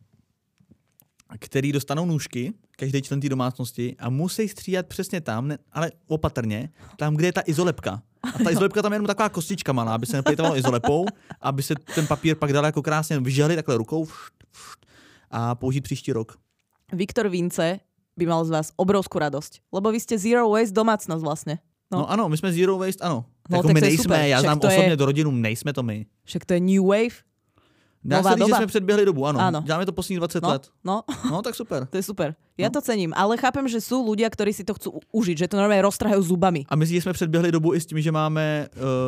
který dostanou nůžky, každý člen té domácnosti a musí stříhat přesně tam, ale opatrně, tam, kde je ta izolepka. A ta izolepka tam je jenom taková kostička malá, aby se neplejtovalo izolepou, aby se ten papír pak dal jako krásně vyžehli takhle rukou a použít příští rok. Viktor Vince by mal z vás obrovskú radosť, lebo vy ste zero waste domácnosť vlastne. No ano, my jsme zero waste, ano. No, jako tak my to je nejsme, super. já Však znám to osobně je... do rodinu, nejsme to my. Však to je new wave. Dá se říct, že jsme předběhli dobu, ano. Děláme to poslední 20 let. No, tak super. To je super. Ja to cením, ale chápem, že sú ľudia, ktorí si to chcú užiť, že to normálne roztrhajú zubami. A myslíš, že jsme předběhli dobu i s tím, že máme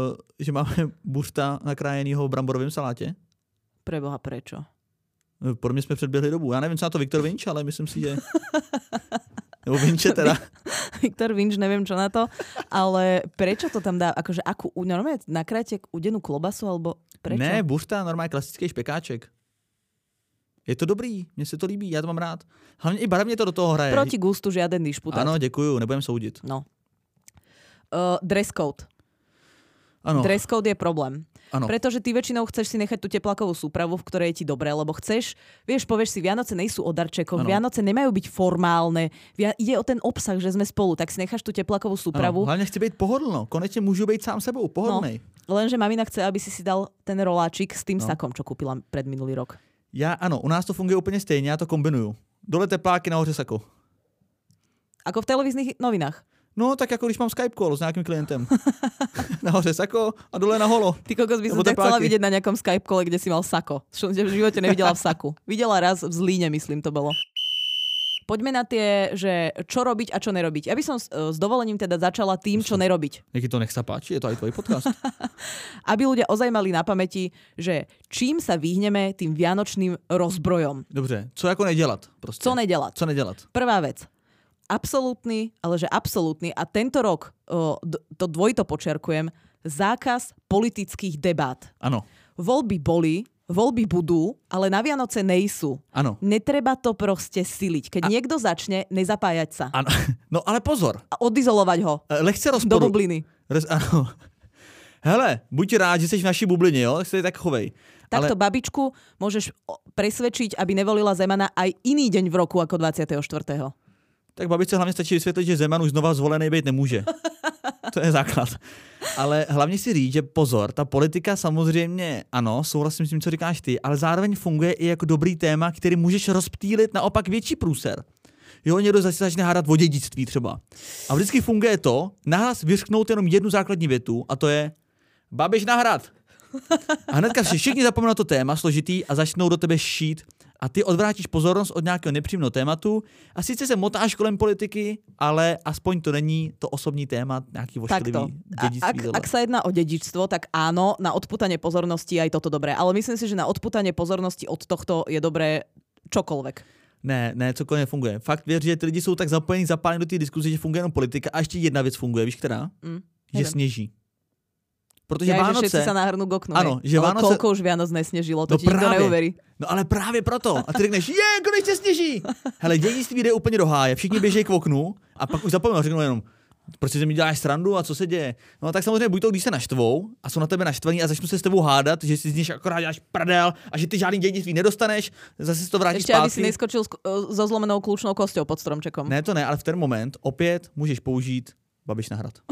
buřta nakrájenýho v bramborovém salátě? Preboha, prečo? Pro mě jsme předběhli dobu. Já nevím, co na to Viktor Vinč, ale myslím si, že... Nebo Vinče teda. Viktor Vinč, neviem čo na to, ale prečo to tam dá? Akože akú, normálne nakrájete udenú klobasu, alebo prečo? Ne, buřta, normálně klasický špekáček. Je to dobrý, mně se to líbí, já to mám rád. Hlavně i barevně to do toho hraje. Proti gustu žiaden dišputát. Ano, děkuju, nebudem soudit. No. Dress code. Ano. Dress code je problém. Ano. Pretože ty väčšinou chceš si nechať tú teplákovú súpravu, v ktorej je ti dobré, lebo chceš, vieš, povieš si, Vianoce nejsú o darčekoch, Vianoce nemajú byť formálne, ide o ten obsah, že sme spolu, tak si necháš tú teplákovú súpravu. Ano. Hlavne chci byť pohodlno, konečne môžu byť sám sebou, pohodlnej. No, lenže mamina chce, aby si dal ten roláčik s tým sakom, čo kúpila pred minulý rok. Ano, u nás to funguje úplně stejně, já to kombinuju. Dole tepláky, nahoře sako. Ako v televíznych novinách. No, tak jako když mám Skype call s nějakým klientem. Nahoře sako a dole na holo. Ty kokos by som ťa chcela vidieť na nejakom Skype call, kde si mal sako. Čo v živote nevidela v saku. Videla raz v Zlíne, myslím, to bolo. Poďme na tie, že čo robiť a čo nerobiť. Ja by som s dovolením teda začala tým, čo nerobiť. Jaký to nech sa páči, je to aj tvoj podcast. Aby ľudia ozaj mali na pamäti, že čím sa vyhneme tým vianočným rozbrojom. Dobře, co jako nedělat? Prostě. Co nedělat? Prvá vec. Absolútny, ale že absolútny a tento rok, to dvojito počerkujem, zákaz politických debát. Ano. Voľby boli, voľby budú, ale na Vianoce nejsú. Ano. Netreba to proste siliť. Keď niekto začne, nezapájať sa. Ano. No ale pozor. A odizolovať ho. Lehce rozporu. Do bubliny. Ano. Hele, buď rád, že jsi v naší bublině, jo? Tak se tak chovej. Takto babičku môžeš presvedčiť, aby nevolila Zemana aj iný deň v roku ako 24. Tak babičce hlavně stačí vysvětlit, že Zeman už znova zvolený být nemůže. To je základ. Ale hlavně si říct, že pozor, ta politika samozřejmě, ano, souhlasím s tím, co říkáš ty, ale zároveň funguje i jako dobrý téma, který můžeš rozptýlit naopak větší průser. Jo, někdo zase začne hádat o dědictví třeba. A vždycky funguje to, nahlas vyřknout jenom jednu základní větu a to je Babiš na hrad. A hnedka všichni zapomenou na to téma složitý a začnou do tebe šít. A ty odvrátíš pozornost od nějakého nepříjemného tématu a sice se motáš kolem politiky, ale aspoň to není to osobní téma, nějaký vošklivý dědictví. Ak sa jedná o dedičstvo, tak áno, na odputanie pozornosti aj toto dobré. Ale myslím si, že na odputanie pozornosti od tohto je dobré čokoľvek. Ne, cokoliv nefunguje. Fakt věř, že ty lidi jsou tak zapálení do té diskuze, že funguje jenom politika. A ještě jedna věc funguje, víš která? Že sněží. Protože Vánoce... Že všetci sa nahrnú k oknu. Ano, že ale Vánoce... koľko už Vianoc nesnežilo, to ti nikto neuverí. No ale právě proto. A ty řekneš, konečně sněží. Hele, dědictví jde úplně do háje, všichni běžejí k oknu a pak už zapomenou, řeknou jenom, proč si mi děláš srandu a co se děje. No tak samozřejmě buď to, když se naštvou a jsou na tebe naštvaní a začnou se s tebou hádat, že si z nich akorát děláš prdel a že ty žádný dědictví nedostaneš, zase si to vrátíš zpátky. Ešte aby si neskočil so zlomenou kľúčnou kosťou pod stromčekom. Ne, to ne, ale v ten moment opět můžeš použít Babiš na hrad.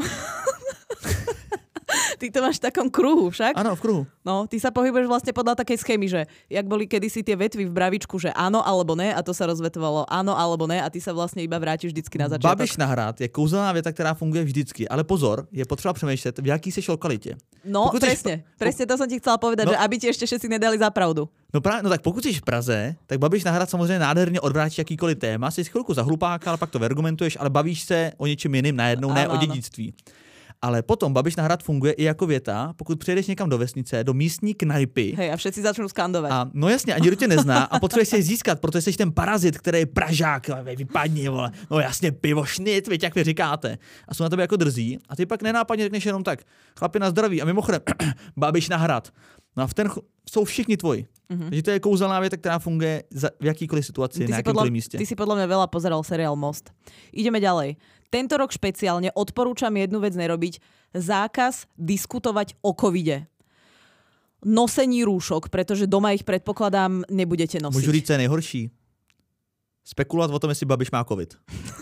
Ty to máš v takom kruhu však? Áno, v kruhu. No, ty sa pohybuješ vlastne podľa takej schémy, že jak boli kedysi tie vetvy v bravičku, že áno alebo ne, a to sa rozvetovalo áno alebo ne, a ty sa vlastne iba vrátiš vždycky na začiatok. Babiš na hrad je kouzelná věta, která funguje vždycky, ale pozor, je potřeba přemýšlet, v jaký seš lokalitě. No, presne to som ti chcela povedať, že aby ti ešte všetci nedali za pravdu. No tak pokud jsi v Praze, tak Babiš na hrad samozřejmě nádherně odvrátíš jakýkoliv téma, jsi chvilku za hlupáka, ale pak to vergumentuješ, ale bavíš se o něčem jiném najednou, ne o dědictví. Ale potom Babiš na hrad funguje i jako věta, pokud přijedeš někam do vesnice, do místní knajpy. Hej, a všetci začnou skandovat. A no jasně, a nikdo tě nezná a potřebuješ se získat, protože jsi ten parazit, který je Pražák, vypadni, vole. No jasně, pivo, šnit, víte, jak vy říkáte. A jsou na tebe jako drzí a ty pak nenápadně řekneš jenom tak, chlapi na zdraví a mimochodem, Babiš na hrad. No a v ten jsou všichni tvoji. Takže to je kouzelná věta, která funguje v jakýkoliv situaci, na jakýmkoliv místě. Ty si podľa mňa veľa pozeral seriál Most. Ideme ďalej. Tento rok špeciálne odporúčam jednu vec nerobiť. Zákaz diskutovať o covide. Nosení rúšok, pretože doma ich predpokladám nebudete nosiť. Můžu říct, co je nejhorší? Spekulovat o tom, jestli Babiš má covid.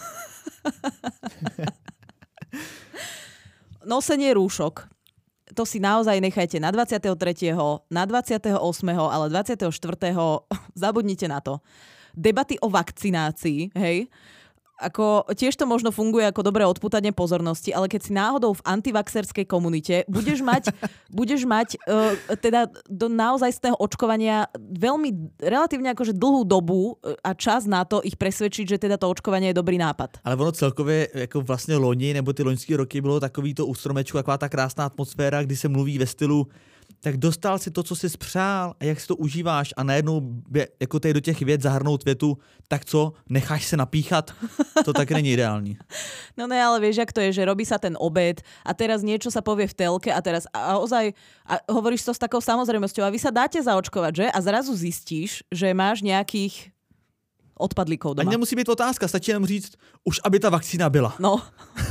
Nosenie rúšok. To si naozaj nechajte na 23., na 28., ale 24. zabudnite na to. Debaty o vakcinácii, hej, ako tiež to možno funguje ako dobré odpútanie pozornosti, ale keď si náhodou v antivaxerskej komunite budeš mať teda do naozajstného očkovania veľmi relatívne akože dlhú dobu a čas na to ich presvedčiť, že teda to očkovanie je dobrý nápad. Ale ono celkově jako vlastně loni nebo ty loňské roky bylo takový to u stromečku, taková ta krásná atmosféra, kdy se mluví ve stylu tak dostal si to, co jsi spřál a jak si to užíváš a najednou jako tady do těch vět zahrnout větu, tak co, necháš se napíchat? To tak není ideální. No ne, ale vieš, jak to je, že robí sa ten obed a teraz niečo sa povie v telke a teraz a ozaj a hovoríš to s takou samozrejmosťou a vy sa dáte zaočkovať, že? A zrazu zistíš, že máš nejakých odpadlíkov doma. Ani nemusí být otázka, stačí jenom říct, už aby ta vakcína byla. No.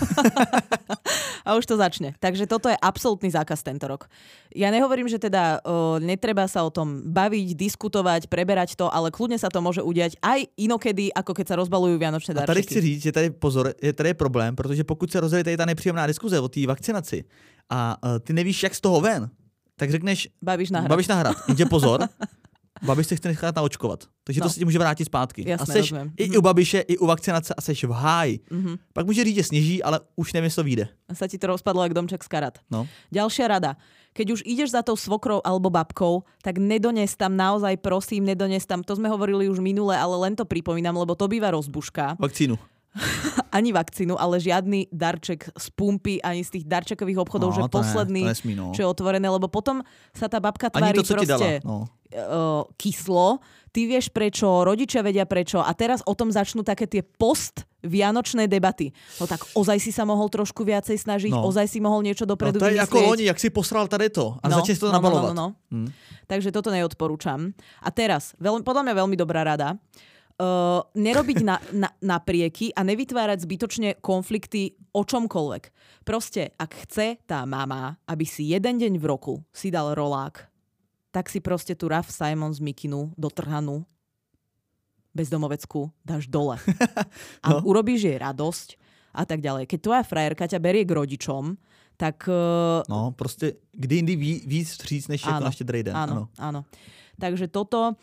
A už to začne. Takže toto je absolútny zákaz tento rok. Ja nehovorím, že teda netreba sa o tom baviť, diskutovať, preberať to, ale kľudne sa to môže udiať aj inokedy, ako keď sa rozbalujú vianočné darčeky. A tady chci říct, že tady pozor, je tady problém, protože pokud se rozjede tady ta nepříjemná diskuze o té vakcinaci a ty nevíš, jak z toho ven, tak řekneš Babiš na hrad. Jenže pozor, Babiš se chce nechat naočkovat. Takže to se ti může vrátit zpátky. Jasné, a seš i u Babiše, i u vakcinace a seš v háji. Pak může říct, že sněží, ale už nevím, co vyjde. A sa ti to rozpadlo jak domček z karát. No. Ďalšia rada. Keď už ideš za tou svokrou alebo babkou, tak nedones tam naozaj, prosím, nedones tam. To sme hovorili už minule, ale len to pripomínam, lebo to býva rozbuška. Vakcínu. Ani vakcínu, ale žiadny darček z pumpy, ani z tých darčekových obchodov, že posledný, čo je otvorené, lebo potom sa tá babka tvári to, proste kyslo. Ty vieš prečo, rodičia vedia prečo a teraz o tom začnú také tie post-vianočné debaty. No tak ozaj si sa mohol trošku viacej snažiť, ozaj si mohol niečo dopredu vymyslieť. To je ako loni, jak si posral tady to a začne si to nabalovať. Takže toto neodporúčam. A teraz, podľa mňa veľmi dobrá rada, nerobiť naprieky a nevytvárať zbytočne konflikty o čomkoľvek. Proste, ak chce tá mama, aby si jeden deň v roku si dal rolák, tak si proste tú Raf Simons mikinu dotrhanú bezdomoveckú dáš dole. A urobíš jej radosť a tak ďalej. Keď tvoja frajerka ťa berie k rodičom, tak... No, proste kdy indy víc vstříc, než jako na Štedrý den. Áno. Takže toto...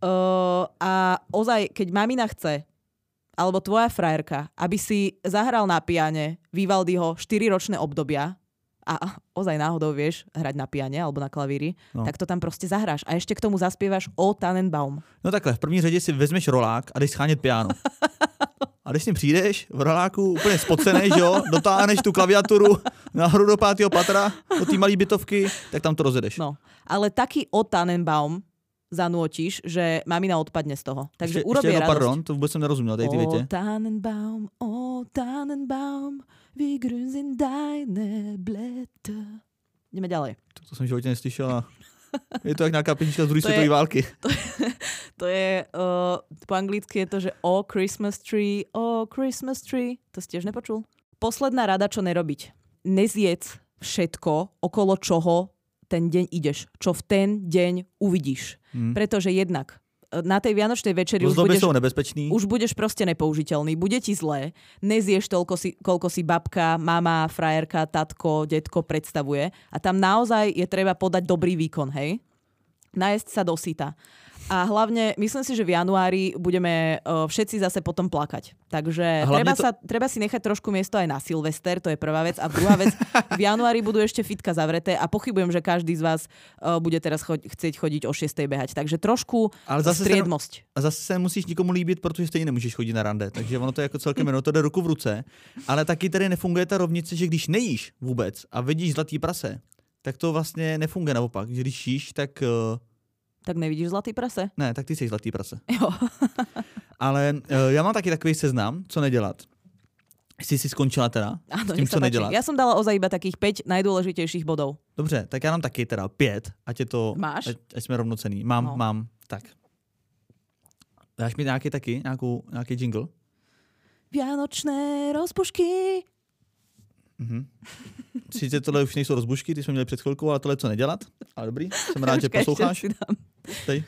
a ozaj, keď mamina chce, alebo tvoja frajerka, aby si zahral na piane Vivaldiho 4-ročné obdobia a ozaj náhodou vieš hrať na piane alebo na klavíri, tak to tam proste zahráš. A ešte k tomu zaspievaš O Tannenbaum. No takhle, v první řadě si vezmeš rolák a jdeš schánět piano. A když s ním přijdeš v roláku úplně spocenej, že jo, dotáhneš tu klaviaturu nahoru do 5. patra, do té malé bytovky, tak tam to rozjedeš. No, ale taký O Tannenbaum zanútiš, že mamina odpadne z toho. Takže urobí radosť. Pardon, to vôbec som nerozumel, tej ty viete. O Tannenbaum, wie grün sind deine Blätter. Ideme ďalej. To som v živote neslyšel. Je to jak nejaká písnička z druhej svetovej války. To je, po anglicky je to, že O Christmas tree, O Christmas tree. To si tiež nepočul? Posledná rada, čo nerobiť. Nezjedz všetko, okolo čoho ten deň ideš, čo v ten deň uvidíš. Pretože jednak na tej vianočnej večeri už budeš proste nepoužiteľný, bude ti zlé, nezieš toľko, koľko si babka, mama, frajerka, tatko, detko predstavuje a tam naozaj je treba podať dobrý výkon, hej? Najesť sa do syta. A hlavne, myslím si, že v januári budeme všetci zase potom plakať. Takže treba si nechať trošku miesto aj na Silvester, to je prvá vec. A druhá vec, v januári budú ešte fitka zavreté a pochybujem, že každý z vás bude teraz chcieť chodiť o 6. behať. Takže trošku striedmosť. A zase se musíš nikomu líbit, protože stejně nemůžeš chodit na rande. Takže ono to je jako celkem to jde ruku v ruce. Ale taky tady nefunguje ta rovnice, že když nejíš vůbec a vidíš zlatý prase, tak to vlastně nefunguje naopak. Když jíš, tak... Tak nevidíš zlatý prase? Ne, tak ty jsi zlatý prase. Jo. Ale já mám taky takový seznam, co nedělat. Jsi si skončila teda Áno, s tím, co nedělat? Ja som dala ozaj iba takých 5 najdôležitejších bodov. Dobře, tak já mám taky teda 5, ať je to... Máš? Ať jsme rovnocenní. Mám. Tak. Dáš mi nějaký jingle? Vianočné rozbušky. Sice tohle už nejsou rozbušky, ty jsme měli před chvilkou, ale tohle co nedělat. Ale dobrý, jsem rád, že posloucháš. Tady.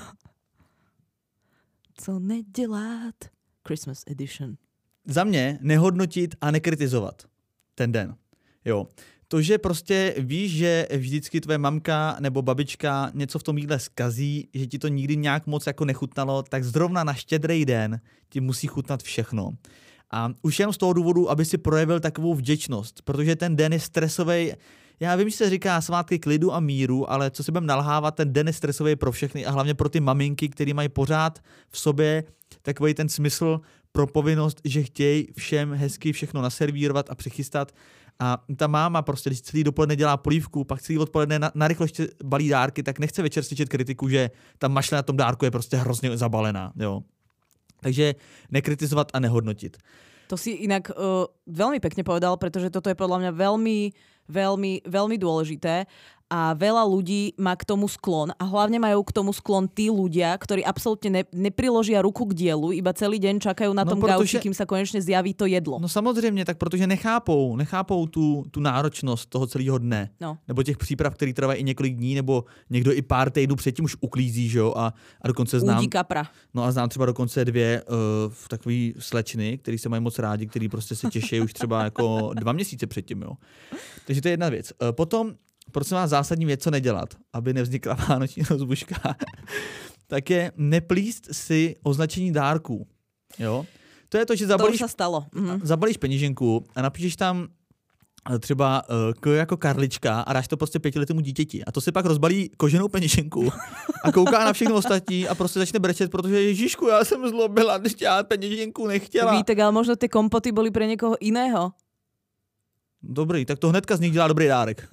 Co nedělat? Christmas edition. Za mě nehodnotit a nekritizovat ten den. Jo. To, že prostě víš, že vždycky tvoje mamka nebo babička něco v tom jídle zkazí, že ti to nikdy nějak moc jako nechutnalo, tak zrovna na Štědrý den ti musí chutnat všechno. A už jen z toho důvodu, aby si projevil takovou vděčnost, protože ten den je stresový. Já vím, že se říká svátky klidu a míru, ale co si budeme nalhávat, ten den je stresový pro všechny a hlavně pro ty maminky, které mají pořád v sobě takový ten smysl pro povinnost, že chtějí všem hezky všechno naservírovat a přichystat. A ta máma prostě, když celý dopoledne dělá polívku, pak celý odpoledne narychlo ještě balí dárky, tak nechce večer slyšet kritiku, že ta mašle na tom dárku je prostě hrozně zabalená. Jo. Takže nekritizovat a nehodnotit. To si inak veľmi pekne povedal, pretože toto je podľa mňa veľmi dôležité a veľa ľudí má k tomu sklon a hlavne majú k tomu sklon tí ľudia, ktorí absolútne nepriložia ruku k dielu, iba celý deň čakajú na tom gauči, kým sa konečne zjaví to jedlo. No samozřejmě, tak protože nechápou tu náročnost toho celého dne. No. Nebo těch příprav, který trvají i několik dní, nebo někdo i pár týdnů předtím už uklízí, že jo, a dokonce znám. Údí kapra. No a znám třeba dokonce 2 takový slečny, který se mají moc rádi, který prostě se těší už třeba jako 2 měsíce předtím, jo. Takže to je jedna věc. Potom prosím vás, zásadní věc, co nedělat, aby nevznikla vánoční rozbuška, tak je neplíst si označení dárků. Jo? To je to, že zabalíš peněženku a napíšeš tam třeba jako Karlička a dáš to prostě 5letému dítěti. A to si pak rozbalí koženou peněženku a kouká na všechno ostatní a prostě začne brečet, protože Ježišku, já jsem zlobila, když já peněženku nechtěla. Víte, ale možno ty kompoty byly pro někoho jiného. Dobrý, tak to hnedka z nich dělá dobrý dárek.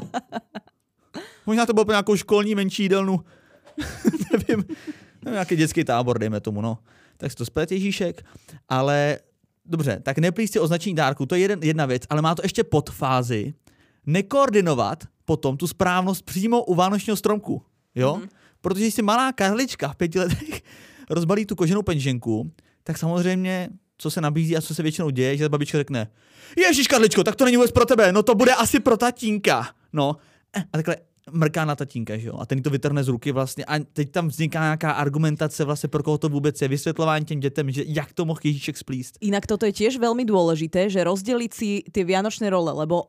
Možná to bylo pro nějakou školní menší jídelnu. nevím, nějaký dětský tábor, dejme tomu, no. Tak si to splet Ježíšek. Ale dobře, tak neplíst si označení dárku, to je jedna věc, ale má to ještě podfázi. Nekoordinovat potom tu správnost přímo u vánočního stromku. Jo? Mm-hmm. Protože když si malá Karlička v 5 letech rozbalí tu koženou peněženku, tak samozřejmě co se nabízí a co se většinou děje, že babička řekne: Ježíš Karličko, tak to není vůbec pro tebe, no to bude asi pro tatínka. No a takhle mrká na tatínka, že jo? A ten to vytrhne z ruky vlastně a teď tam vzniká nějaká argumentace vlastně, pro koho to vůbec je, vysvětlování těm dětem, že jak to mohl Ježíšek splíst. Inak toto je tiež veľmi dôležité, že rozdeliť si tie vianočné role, lebo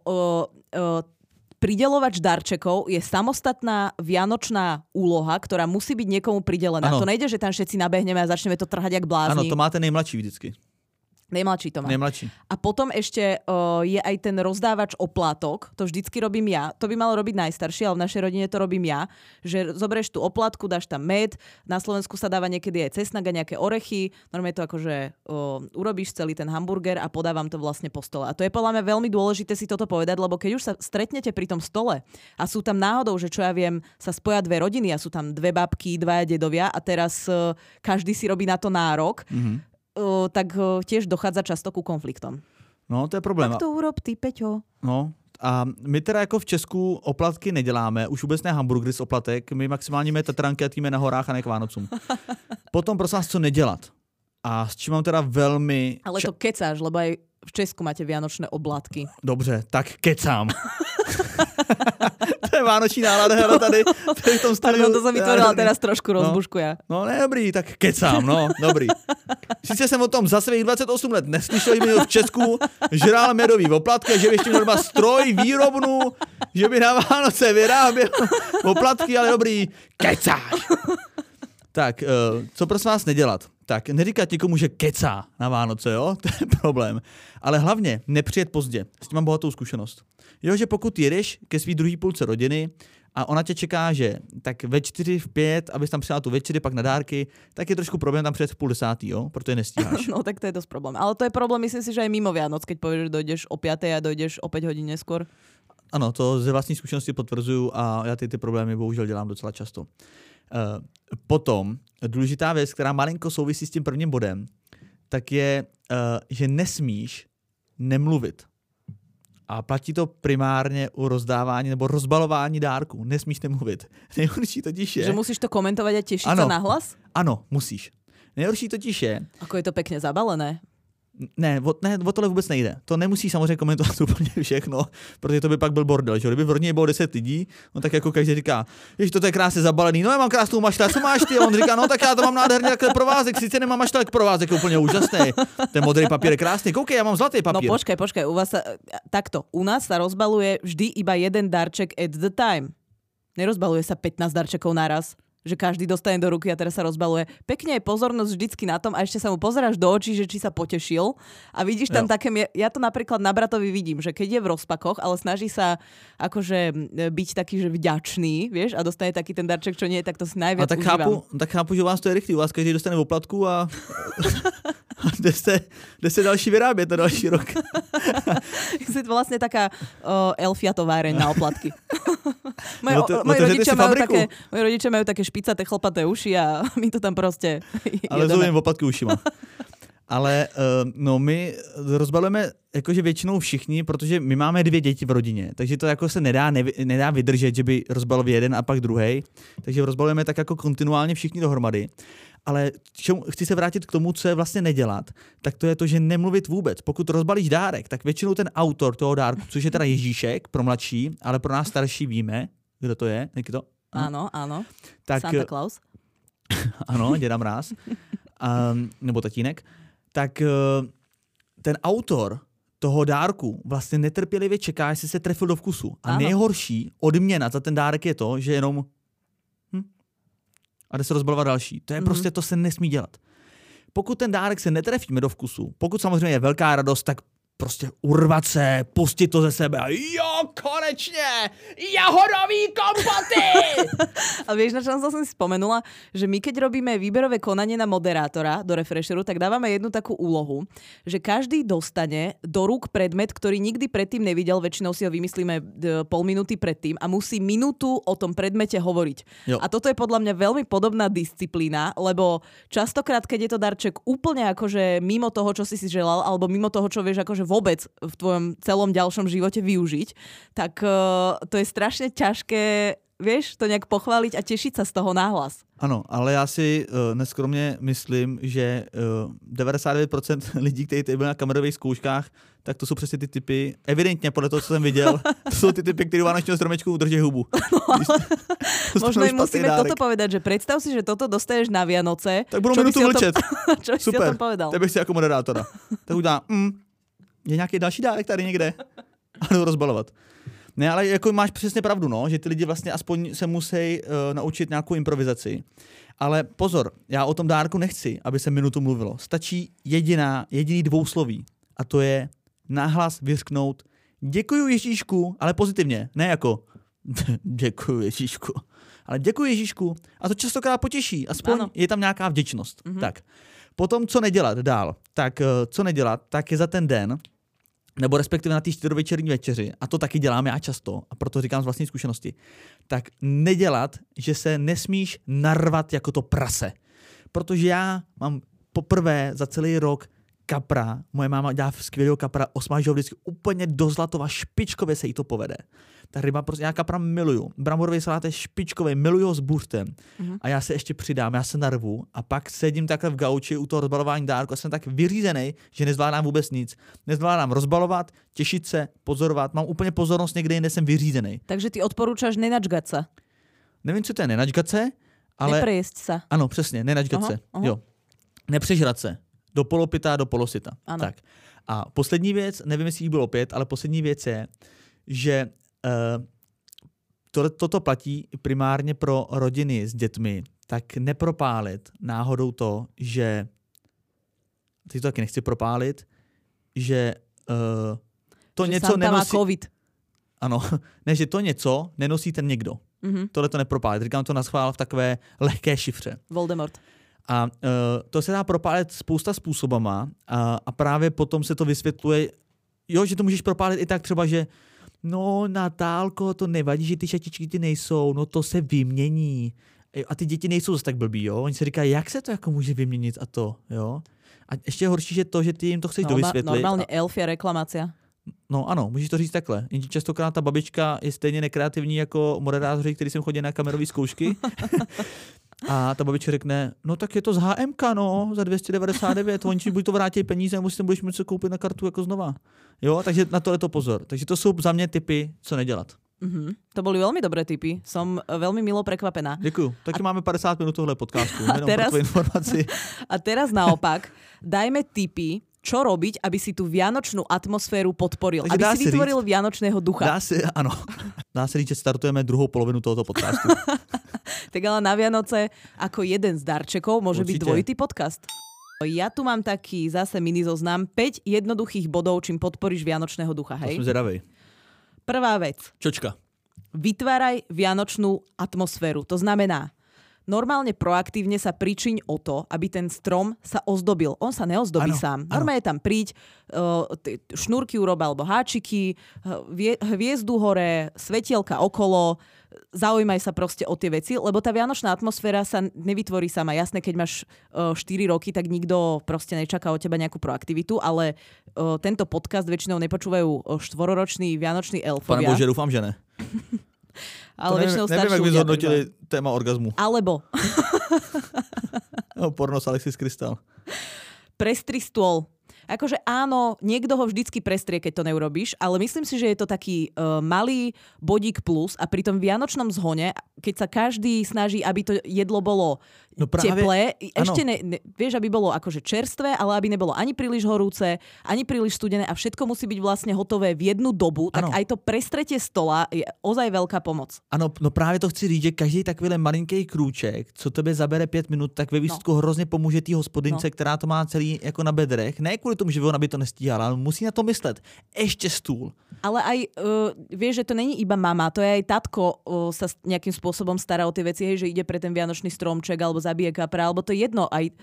prideľovač darčekov je samostatná vianočná úloha, ktorá musí byť niekomu pridelená. Ano. To nejde, že tam všetci nabehneme a začneme to trhať jak blázni. Áno, to máte nejmladší vždycky. Nejmladší to má. Nejmladší. A potom ešte je aj ten rozdávač oplátok, to vždycky robím ja. To by mal robiť najstarší, ale v našej rodine to robím ja. Že zoberieš tú oplátku, dáš tam med, na Slovensku sa dáva niekedy aj cesnak a nejaké orechy, normálne to akože urobíš celý ten hamburger a podávam to vlastne po stole. A to je podľa mňa veľmi dôležité si toto povedať, lebo keď už sa stretnete pri tom stole a sú tam náhodou, že čo ja viem, sa spoja 2 rodiny a sú tam 2 babky, 2 dedovia a teraz každý si robí na to nárok, tak tiež dochádza často ku konfliktom. No, to je problém. Tak to urob ty, Peťo. No, a my teda jako v Česku oplatky neděláme, už vůbec ne hamburgery z oplatek, my maximálně máme tatranky a týme na horách a ne k Vánocům. Potom prosím vás, co nedělat. A s čím mám teda velmi... Ale to kecáš, lebo aj v Česku máte vianočné oblátky. Dobře, tak kecám. To je vánoční nálada, hele, tady v tom studiu. Pardon, to som vytvorila teraz trošku rozbušku ja. No ne, dobrý, tak kecám, no, dobrý. Sice jsem o tom za svých 28 let neslyšel, že by v Česku žrál medový oplatky, že by ještě měl stroj, výrobnu, že by na Vánoce vyráběl oplatky, ale dobrý, kecáš. Tak, co prosím vás nedělat? Tak, neříkat někomu, že kecá na Vánoce, jo? To je problém. Ale hlavně nepřijet pozdě. S tím mám bohatou zkušenost. Jo, že pokud jedeš ke svý druhý půlce rodiny a ona tě čeká, že tak ve 4, v 5, abys tam přijala tu večeři, pak na dárky, tak je trošku problém tam přijet v 9:30, jo? Protože nestíháš. No tak to je dosť problém. Ale to je problém, myslím si, že aj mimo Vianoc, keď povieš, že dojdeš o 5 a dojdeš o 5 hodín neskôr. Ano, to ze vlastní zkušenosti potvrzuju a já ty problémy bohužel dělám docela často. Potom důležitá věc, která malinko souvisí s tím prvním bodem, tak je, že nesmíš nemluvit. A platí to primárně u rozdávání nebo rozbalování dárků. Nesmíš nemluvit. Nejhorší totiž je... Že musíš to komentovať a tešiť sa na hlas? Ano, musíš. Nejhorší totiž je... Ako je to pekne zabalené. Ne, o tohle vůbec nejde. To nemusí samozřejmě komentovat úplně všechno, protože to by pak byl bordel. Že? Kdyby v rodině bylo 10 lidí, no tak jako každý říká, že to je krásně zabalený, no já mám krásnou mašle, co máš ty? A on říká, no tak já to mám nádherný takhle provázek, sice nemám mašle, tak provázek je úplně úžasný. Ten modrý papír je krásný, koukej, já mám zlatý papír. No počkaj, u vás takto, u nás sa rozbaluje vždy iba jeden darček at the time. Nerozbaluje sa 15 darčekov naraz. Že každý dostane do ruky a teraz sa rozbaluje. Pekne je pozornosť vždycky na tom a ešte sa mu pozeráš do očí, že či sa potešil a vidíš tam také, ja to napríklad na bratovi vidím, že keď je v rozpakoch, ale snaží sa akože byť taký, že vďačný, vieš, a dostane taký ten darček, čo nie je, tak to si najviac užívam. Tak chápu, že u vás to je rychlý, u vás každý dostane oplatku a jde se další vyrábět na další rok. Je to vlastne taká Elfia továreň na oplatky. Moji rodičia majú také špicaté chlpaté uši a my to tam prostě ale zovím oplatky ušima. Ale no my rozbalujeme jakože většinou všichni, protože my máme 2 děti v rodině, takže to jako se nedá vydržet, že by rozbalil jeden a pak druhej. Takže rozbalujeme tak jako kontinuálně všichni dohromady. Ale chci se vrátit k tomu, co je vlastně nedělat, tak to je to, že nemluvit vůbec. Pokud rozbalíš dárek, tak většinou ten autor toho dárku, což je teda Ježíšek pro mladší, ale pro nás starší víme, kdo to je, jak to? Áno. Tak, Santa Claus. Ano, děda Mráz. Nebo tatínek. Tak ten autor toho dárku vlastně netrpělivě čeká, jestli se trefil do vkusu. A nejhorší odměna za ten dárek je to, že jenom a jde se rozbalovat další. To je prostě, to se nesmí dělat. Pokud ten dárek se netrefíme do vkusu, pokud samozřejmě je velká radost, tak prostě urvat se, pustit to ze sebe a jo, konečne, jahodový kompoty! A vieš, na čo som si spomenula, že my keď robíme výberové konanie na moderátora do Refresheru, tak dávame jednu takú úlohu, že každý dostane do rúk predmet, ktorý nikdy predtým nevidel, väčšinou si ho vymyslíme pol minúty predtým a musí minútu o tom predmete hovoriť. Jo. A toto je podľa mňa veľmi podobná disciplína, lebo častokrát, keď je to darček úplne akože mimo toho, čo si želal, alebo mimo toho, čo vieš akože vôbec v tvojom celom ďalšom živote využiť, tak to je strašne ťažké, vieš, to nejak pochváliť a tešiť sa z toho náhlas. Ano, ale já si neskromně myslím, že 99% lidí, kteří byli na kamerových zkouškách, tak to jsou přesně ty typy, evidentně podle toho, co jsem viděel, to jsou ty typy, kteří u vánočního stromečku drží hubu. Možno im musíme toto povedať, že predstav si, že toto dostaneš na Vianoce. Tak budou minutu mlčet. Čo by si o tom povedal? Super, si jako moderátora. Tak udělám, je nějaký další dárek tady někde a jdu rozbalovat. Ne, ale jako máš přesně pravdu, no, že ty lidi vlastně aspoň se musí naučit nějakou improvizaci. Ale pozor, já o tom dárku nechci, aby se minutu mluvilo. Stačí jediný dvousloví a to je nahlas vyřknout děkuju Ježíšku, ale pozitivně, ne jako děkuju Ježíšku, ale děkuju Ježíšku a to častokrát potěší, aspoň je tam nějaká vděčnost. Tak. Potom, co nedělat dál? Tak co nedělat, tak je za ten den, nebo respektive na té 4večerní večeři, a to taky dělám já často, a proto říkám z vlastní zkušenosti, tak nedělat, že se nesmíš narvat jako to prase. Protože já mám poprvé za celý rok kapra, moje máma dělá skvělého kapra, osmaží ho vždycky úplně do zlatova, špičkově se jí to povede. Ta ryba, prostě já kapra miluju. Bramborový salát je špičkový, miluju ho s buřtem. A já se ještě přidám, já se narvu a pak sedím takhle v gauči u toho rozbalování dárku a jsem tak vyřízený, že nezvládám vůbec nic. Nezvládám rozbalovat, těšit se, pozorovat. Mám úplně pozornost někde jinde, jsem vyřízený. Takže ty odporúčaš nenačgať sa. Nevím, co to je nenačgat se, ale... Neprejesť sa. Ano, přesně, nenačgat se. Jo. Nepřežrat se. Do polopita, do polosita. Ano. Tak. A poslední věc, nevím, jestli jich bylo 5, ale poslední věc je, že toto platí primárně pro rodiny s dětmi, tak nepropálit náhodou to, že teď to taky nechci propálit, že to že něco Santa má nenosí... covid. Ano, ne, že to něco nenosí ten někdo. Tohle to nepropálit. Říkám to naschvál v takové lehké šifře. Voldemort. A to se dá propálit spousta způsobama a právě potom se to vysvětluje, jo, že to můžeš propálit i tak třeba, že no Natálko, to nevadí, že ty šatičky ty nejsou, no to se vymění. A ty děti nejsou zase tak blbý, jo. Oni se říkají, jak se to jako může vyměnit a to, jo. A ještě horší, že to, že ty jim to chceš dovysvětlit. Normálně elfia reklamácia. No ano, můžeš to říct takhle. Jenže častokrát ta babička je stejně nekreativní jako moderátoři, kteří sem chodí na kamerové zkoušky. A ta babička řekne, no tak je to z HMK, no, za 299, oni buď to vrátí peníze, nebo si tam budeš muset koupit na kartu jako znova. Jo, takže na to je to pozor. Takže to jsou za mě tipy, co nedělat. To boli veľmi dobré tipy. Som veľmi milo prekvapená. Děkuju. Taky máme 50 minut tohle podcastu. A teraz, informaci. A teraz naopak, dajme tipy, čo robiť, aby si tú vianočnú atmosféru podporil. Takže aby si vytvoril vianočného ducha. Dá se říct, že startujeme druhou polovinu tohoto podcastu. Tak ale na Vianoce ako jeden z darčekov môže byť dvojitý podcast. Ja tu mám taký zase mini zoznam 5 jednoduchých bodov, čím podporíš vianočného ducha. Hej? To som zvedavej. Prvá vec. Čočka. Vytváraj vianočnú atmosféru. To znamená, normálne proaktívne sa pričiň o to, aby ten strom sa ozdobil. On sa neozdobí sám. Normálne tam príď, šnúrky urob alebo háčiky, hviezdu hore, svetielka okolo, zaujímaj sa proste o tie veci, lebo tá vianočná atmosféra sa nevytvorí sama. Jasné, keď máš 4 roky, tak nikto proste nečaká od teba nejakú proaktivitu, ale tento podcast väčšinou nepočúvajú 4-roční vianoční elfovia. Pane Bože, dúfam, že ne. Ale väčšinou starší ľudia. Neviem, ak by zhodnotili téma orgazmu. Alebo. No, pornos Alexis Krystal. Prestri stôl. Akože áno, niekto ho vždycky prestrie, keď to neurobíš, ale myslím si, že je to taký malý bodík plus a pri tom vianočnom zhone, keď sa každý snaží, aby to jedlo bolo teplé, ešte vieš, aby bolo akože čerstvé, ale aby nebolo ani príliš horúce, ani príliš studené a všetko musí byť vlastne hotové v jednu dobu, tak aj to prestretie stola je ozaj veľká pomoc. Ano, no právě to chci říct, že každý takovýhle malinký krůček, co tebe zabere 5 minut, tak ve výsledku hrozně pomůže té hospodince, která to má celý jako na bedrech. Ne kvůli tomu, že ona by to nestíhala, ale musí na to myslet. Ešte stůl. Ale aj, vieš, že to není iba mama, to je aj tatko sa nejakým spôsobom stará o tie veci, hej, že ide pre ten vianočný stromček alebo zabije kapra, alebo to je jedno, aj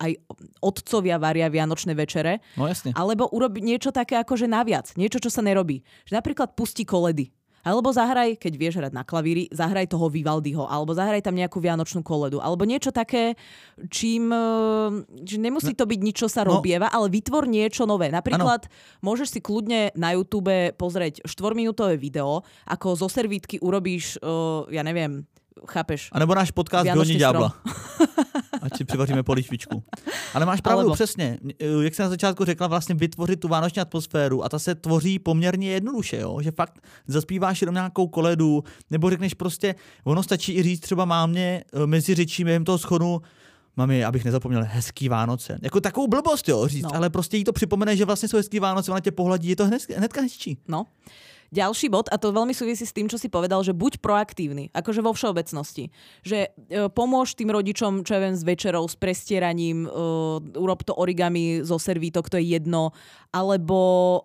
otcovia varia vianočné večere. No jasne. Alebo urobi niečo také akože naviac, niečo, čo sa nerobí. Že napríklad pustí koledy. Alebo zahraj, keď vieš hrať na klavíri, zahraj toho Vivaldiho, alebo zahraj tam nejakú vianočnú koledu, alebo niečo také, čím že nemusí to byť nič, čo sa robieva, ale vytvor niečo nové. Napríklad môžeš si kľudne na YouTube pozrieť 4-minútové video, ako zo servítky urobíš, ja neviem, chápeš? A nebo náš podcast Vyhoní ďábla. Ať si přivaříme polívčičku. Ale máš pravdu, přesně. Jak jsem na začátku řekla, vlastně vytvořit tu vánoční atmosféru a ta se tvoří poměrně jednoduše, jo? Že fakt zaspíváš jenom nějakou koledu, nebo řekneš prostě, ono stačí i říct třeba mámě mezi řečí během toho schodu, mami, abych nezapomněl, hezký Vánoce. Jako takovou blbost, jo, říct, ale prostě jí to připomene, že vlastně jsou hezký Vánoce, ona tě pohladí, je to hnedka hezčí. No. Ďalší bod, a to veľmi súvisí s tým, čo si povedal, že buď proaktívny, akože vo všeobecnosti. Že pomôž tým rodičom, čo ja viem, s večerou, s prestieraním, urob to origami zo servítok, to je jedno, alebo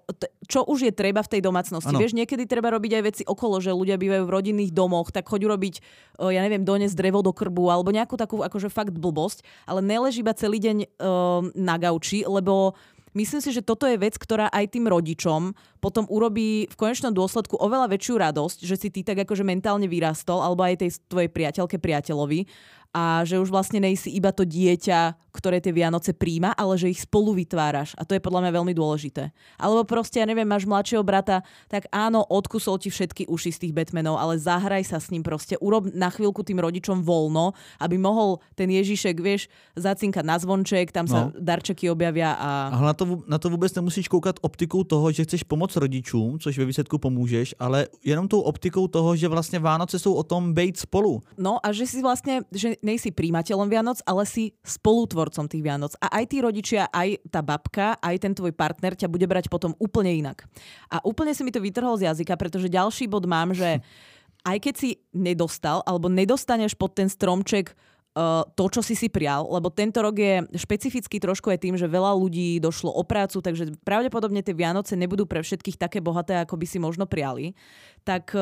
čo už je treba v tej domácnosti. Vieš, niekedy treba robiť aj veci okolo, že ľudia bývajú v rodinných domoch, tak choď urobiť, ja neviem, doniesť drevo do krbu, alebo nejakú takú akože fakt blbosť, ale nelež iba celý deň na gauči, lebo myslím si, že toto je vec, ktorá aj tým rodičom potom urobí v konečnom dôsledku oveľa väčšiu radosť, že si ty tak akože mentálne vyrastol, alebo aj tej tvojej priateľke, priateľovi, a že už vlastne nejsi iba to dieťa, ktoré tie Vianoce príjma, ale že ich spolu vytváraš. A to je podľa mňa veľmi dôležité. Alebo proste, ja neviem, máš mladšieho brata, tak áno, odkusol ti všetky uši z tých Batmanov, ale zahraj sa s ním proste. Urob na chvíľku tým rodičom voľno, aby mohol ten Ježišek, vieš, zacinkať na zvonček, tam sa darčeky objavia a... Ale na to vůbec nemusíš koukat optikou toho, že chceš pomoct rodičům, což ve výsledku pomůžeš, ale jenom tou optikou toho, že vlastně Vánoce jsou o tom bejt spolu. No a že si vlastne, že nejsi príjimateľom Vianoc, ale si spolutvorcom tých Vianoc. A aj tí rodičia, aj tá babka, aj ten tvoj partner ťa bude brať potom úplne inak. A úplne si mi to vytrhol z jazyka, pretože ďalší bod mám, že aj keď si nedostal, alebo nedostaneš pod ten stromček to, čo si prial, lebo tento rok je špecifický trošku aj tým, že veľa ľudí došlo o prácu, takže pravdepodobne tie Vianoce nebudú pre všetkých také bohaté, ako by si možno priali. Tak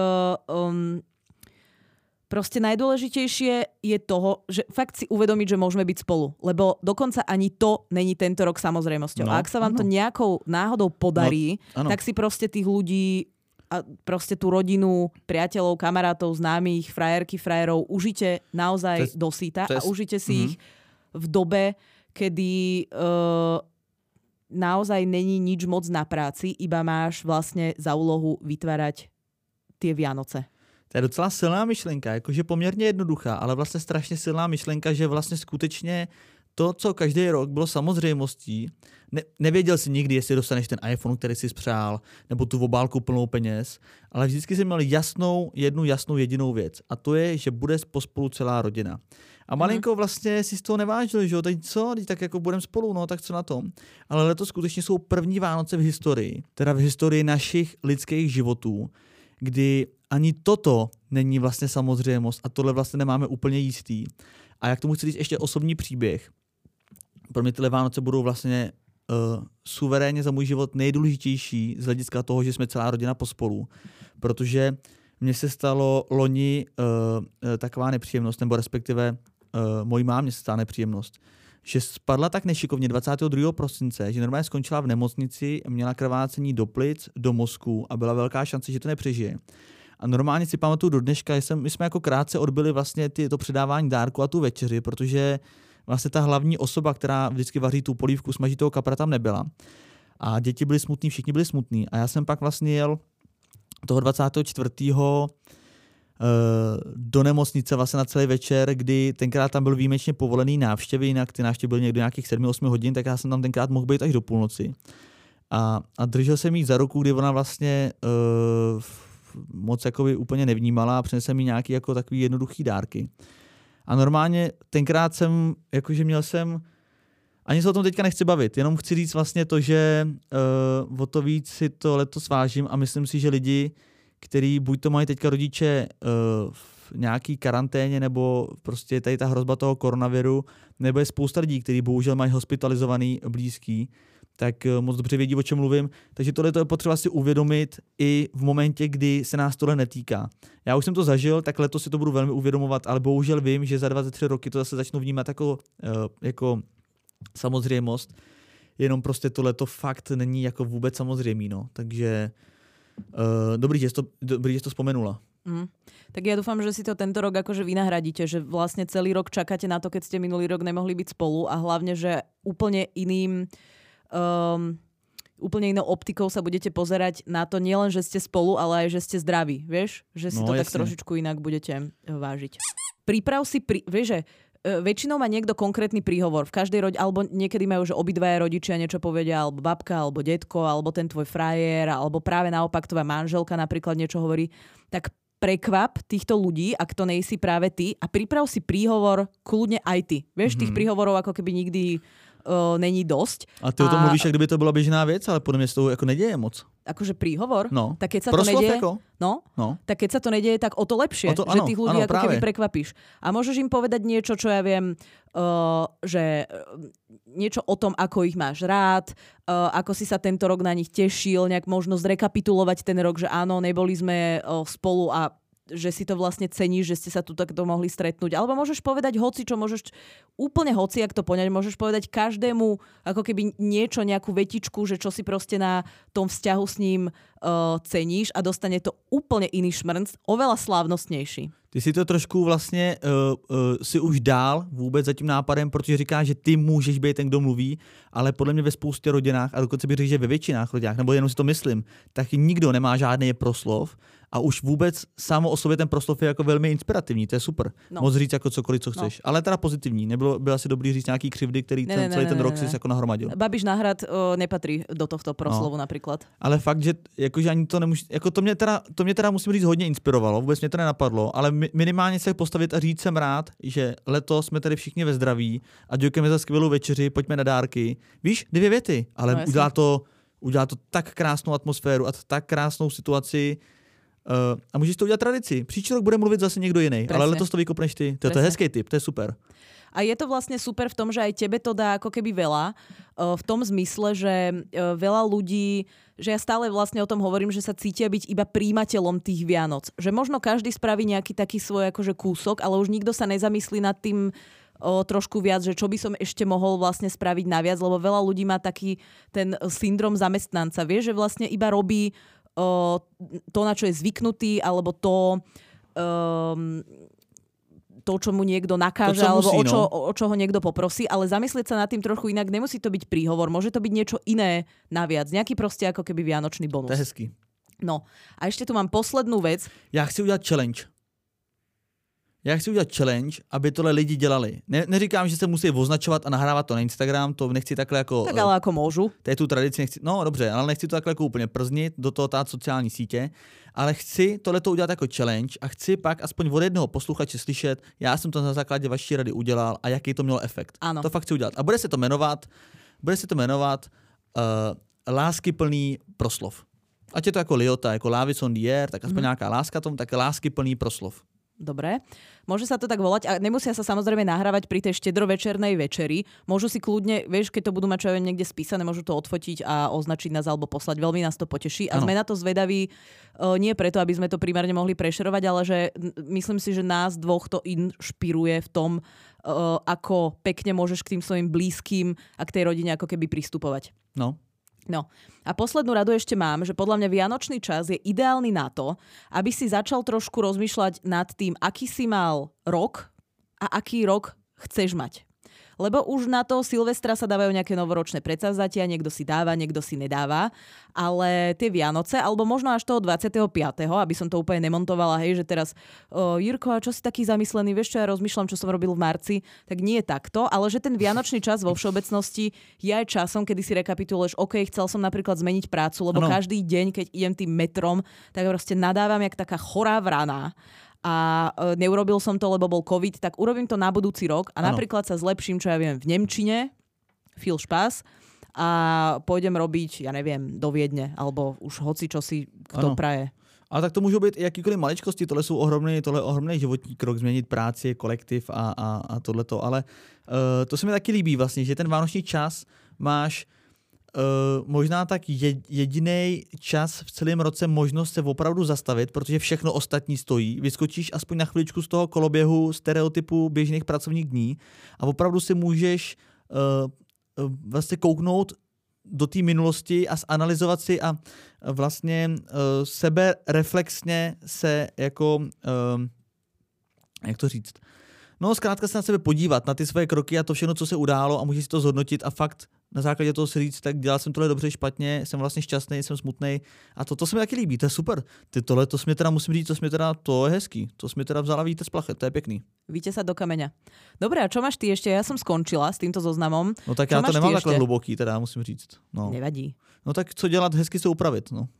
proste najdôležitejšie je toho, že fakt si uvedomiť, že môžeme byť spolu, lebo dokonca ani to není tento rok samozrejmosťou. A ak sa vám to nejakou náhodou podarí, tak si proste tých ľudí a proste tú rodinu, priateľov, kamarátov, známych, frajerky, frajerov užite naozaj do síta a užite si ich v dobe, kedy naozaj není nič moc na práci, iba máš vlastne za úlohu vytvárať tie Vianoce. To je docela silná myšlenka, jakože poměrně jednoduchá, ale vlastně strašně silná myšlenka, že vlastně skutečně to, co každý rok bylo samozřejmostí, nevěděl si nikdy, jestli dostaneš ten iPhone, který jsi spřál, nebo tu obálku plnou peněz, ale vždycky jsi měl jednu jasnou jedinou věc. A to je, že bude pospolu celá rodina. A malinko vlastně si z toho nevážil, že jo, teď co, teď tak jako budeme spolu, no tak co na tom. Ale letos skutečně jsou první Vánoce v historii, teda v historii našich lidských životů, kdy ani toto není vlastně samozřejmost a tohle vlastně nemáme úplně jistý. A jak tomu chci říct ještě osobní příběh. Pro mě tyhle Vánoce budou vlastně suverénně za můj život nejdůležitější z hlediska toho, že jsme celá rodina pospolu. Protože mně se stalo loni taková nepříjemnost, nebo respektive mojí mámě se stala nepříjemnost, že spadla tak nešikovně 22. prosince, že normálně skončila v nemocnici, měla krvácení do plic, do mozku a byla velká šance, že to nepřežije. A normálně si pamatuju do dneška, my jsme jako krátce odbyli vlastně to předávání dárku a tu večeři, protože vlastně ta hlavní osoba, která vždycky vaří tu polívku, smaží toho kapra, tam nebyla. A děti byly smutný, všichni byli smutní. A já jsem pak vlastně jel toho 24. Do nemocnice vlastně na celý večer, kdy tenkrát tam byl výjimečně povolený návštěvy, jinak ty návštěvy byly někdo nějakých 7-8 hodin, tak já jsem tam tenkrát mohl být až do půlnoci. A držel jsem jí za ruku, kdy ona vlastně moc jakoby úplně nevnímala a přinesl mi nějaký jako takový jednoduchý dárky. A normálně tenkrát jsem, jakože měl jsem, ani se o tom teďka nechci bavit, jenom chci říct vlastně to, že o to víc si to letos vážím a myslím si, že lidi, který buď to mají teďka rodiče v nějaký karanténě, nebo prostě tady ta hrozba toho koronaviru, nebo je spousta lidí, kteří bohužel mají hospitalizovaný blízký, tak moc dobře vědí, o čem mluvím. Takže tohle je potřeba si uvědomit i v momentě, kdy se nás tohle netýká. Já už jsem to zažil, tak letos si to budu velmi uvědomovat, ale bohužel vím, že za 23 roky to zase začnu vnímat jako samozřejmost. Jenom prostě tohleto fakt není jako vůbec samozřejmý. No. Takže dobrý, že jsi to vzpomenula. Tak ja dúfam, že si to tento rok akože vynahradíte, že vlastne celý rok čakáte na to, keď ste minulý rok nemohli byť spolu a hlavne, že úplne inou optikou sa budete pozerať na to nielen, že ste spolu, ale aj, že ste zdraví, vieš? Že si to jasne. Tak trošičku inak budete vážiť. Príprav si, vieš, že väčšinou má niekto konkrétny príhovor. V každej rodine, alebo niekedy majú, že obidvaja rodičia niečo povedia, alebo babka, alebo detko, alebo ten tvoj frajer, alebo práve naopak tvoja manželka napríklad niečo hovorí. Tak prekvap týchto ľudí, ak to nejsi práve ty, a priprav si príhovor kľudne aj ty. Vieš, tých príhovorov ako keby nikdy není dosť. A ty o tom mluvíš, jak kdyby to byla běžná věc, ale podle mě se to jako neděje moc. Akože príhovor? No. Tak keď sa to nedeje, jako? no? Tak keď sa to nedeje, tak o to lepšie, že tých ľudí ako keby prekvapíš. A môžeš im povedať niečo, čo ja viem, že niečo o tom, ako ich máš rád, ako si sa tento rok na nich tešil, nejak možno zrekapitulovať ten rok, že áno, neboli sme spolu a že si to vlastne ceníš, že ste sa tu takto mohli stretnúť. Alebo môžeš povedať hoci, čo môžeš úplne hoci, ak to poňať, môžeš povedať každému ako keby niečo, nejakú vetičku, že čo si proste na tom vzťahu s ním ceníš a dostane to úplne iný šmrnc, oveľa slávnostnejší. Ty si to trošku vlastně si už dál vůbec za tím nápadem, protože říkáš, že ty můžeš být ten, kdo mluví, ale podle mě ve spoustě rodinách, a dokonce bych řekl, že ve většinách rodinách, nebo jenom si to myslím, tak nikdo nemá žádný proslov a už vůbec samo o sobě ten proslov je jako velmi inspirativní, to je super. No. Moc říct jako cokoliv, co chceš, ale teda pozitivní. Bylo asi dobrý říct nějaký křivdy, který celý ten rok si jako nahromadil. Babiš na hrad nepatří do tohto proslovu například. Ale fakt, že jakože ani to nemůže, jako to mě teda musím říct hodně inspirovalo, vůbec mě to nenapadlo, ale minimálně se postavit a říct jsem rád, že letos jsme tady všichni ve zdraví a děkujeme za skvělou večeři, pojďme na dárky. Víš, 2 věty, ale udělá to tak krásnou atmosféru a tak krásnou situaci A můžeš to udělat tradici. Příští rok bude mluvit zase někdo jiný, ale letos to vykopneš ty. To je hezký tip, to je super. A je to vlastne super v tom, že aj tebe to dá ako keby veľa, v tom zmysle, že veľa ľudí, že ja stále vlastne o tom hovorím, že sa cítia byť iba príjimateľom tých Vianoc. Že možno každý spraví nejaký taký svoj akože kúsok, ale už nikto sa nezamyslí nad tým trošku viac, že čo by som ešte mohol vlastne spraviť naviac, lebo veľa ľudí má taký ten syndrom zamestnanca. Vieš, že vlastne iba robí to, na čo je zvyknutý, alebo to čo mu niekto nakáže, alebo o čo ho niekto poprosí, ale zamyslieť sa nad tým trochu inak, nemusí to byť príhovor, môže to byť niečo iné naviac, nejaký proste ako keby vianočný bonus. To je hezký. No a ešte tu mám poslednú vec. Já chci udělat challenge, aby tohle lidi dělali. Neříkám, že se musí označovat a nahrávat to na Instagram, to nechci takhle jako... Tak ale ako môžu. To je tu tradici, no dobře, ale nechci to takhle jako úplně prznit, do toho tát sociální sítě, ale chci tohleto udělat jako challenge a chci pak aspoň od jednoho posluchače slyšet, já jsem to na základě vaší rady udělal a jaký to mělo efekt. Ano. To fakt chci udělat. A bude se to jmenovat láskyplný proslov. Ať je to jako Liota, jako Love is on the air, tak aspoň nějaká láska tomu, tak láskyplný proslov. Dobre. Môže sa to tak volať a nemusia sa samozrejme nahrávať pri tej štedrovečernej večeri. Môžu si kľudne, vieš, keď to budú mať čo aj niekde spísané, môžu to odfotiť a označiť nás alebo poslať. Veľmi nás to poteší. A sme na to zvedaví nie preto, aby sme to primárne mohli prešerovať, ale že myslím si, že nás dvoch to inšpiruje v tom, ako pekne môžeš k tým svojim blízkym a k tej rodine ako keby pristupovať. No a poslednú radu ešte mám, že podľa mňa vianočný čas je ideálny na to, aby si začal trošku rozmýšľať nad tým, aký si mal rok a aký rok chceš mať. Lebo už na to Silvestra sa dávajú nejaké novoročné predsavzatia, niekto si dáva, niekto si nedáva, ale tie Vianoce, alebo možno až toho 25., aby som to úplne nemontovala, hej, že teraz Jirko, a čo si taký zamyslený, vieš čo, ja rozmýšľam, čo som robil v marci, tak nie je takto, ale že ten vianočný čas vo všeobecnosti je aj časom, kedy si rekapituluješ, OK, chcel som napríklad zmeniť prácu, lebo každý deň, keď idem tým metrom, tak proste nadávam jak taká chorá vrana. A neurobil som to, lebo bol COVID, tak urobím to na budúci rok a napríklad sa zlepším, čo ja viem, v nemčine, viel Spaß, a pôjdem robiť, ja neviem, do Viedne, alebo už hoci čo si kto praje. Ale tak to můžou být jakýkoliv maličkosti, tohle je ohromný životní krok, změnit práci, kolektiv a tohleto, ale to se mi taky líbí vlastně, že ten vánoční čas máš možná tak jediný čas v celém roce možnost se opravdu zastavit, protože všechno ostatní stojí. Vyskočíš aspoň na chviličku z toho koloběhu stereotypu běžných pracovních dní a opravdu si můžeš vlastně kouknout do té minulosti a zanalyzovat si a vlastně sebe reflexně se jako jak to říct? No zkrátka se na sebe podívat, na ty své kroky a to všechno, co se událo a můžeš si to zhodnotit a fakt na základě toho si říct, tak dělal jsem tohle dobře, špatně, jsem vlastně šťastný, jsem smutný a to se mi taky líbí, to je super. Tohle to mě teda musím říct, to je hezký, to jsme teda vzala vítr z plachet, to je pěkný. Víte sa do kameňa. Dobre, a čo máš ty ešte? Ja som skončila s týmto zoznamom. No tak čo já to nemám takhle hluboký, teda musím říct. No. Nevadí. No tak co dělat, hezky se upravit, no.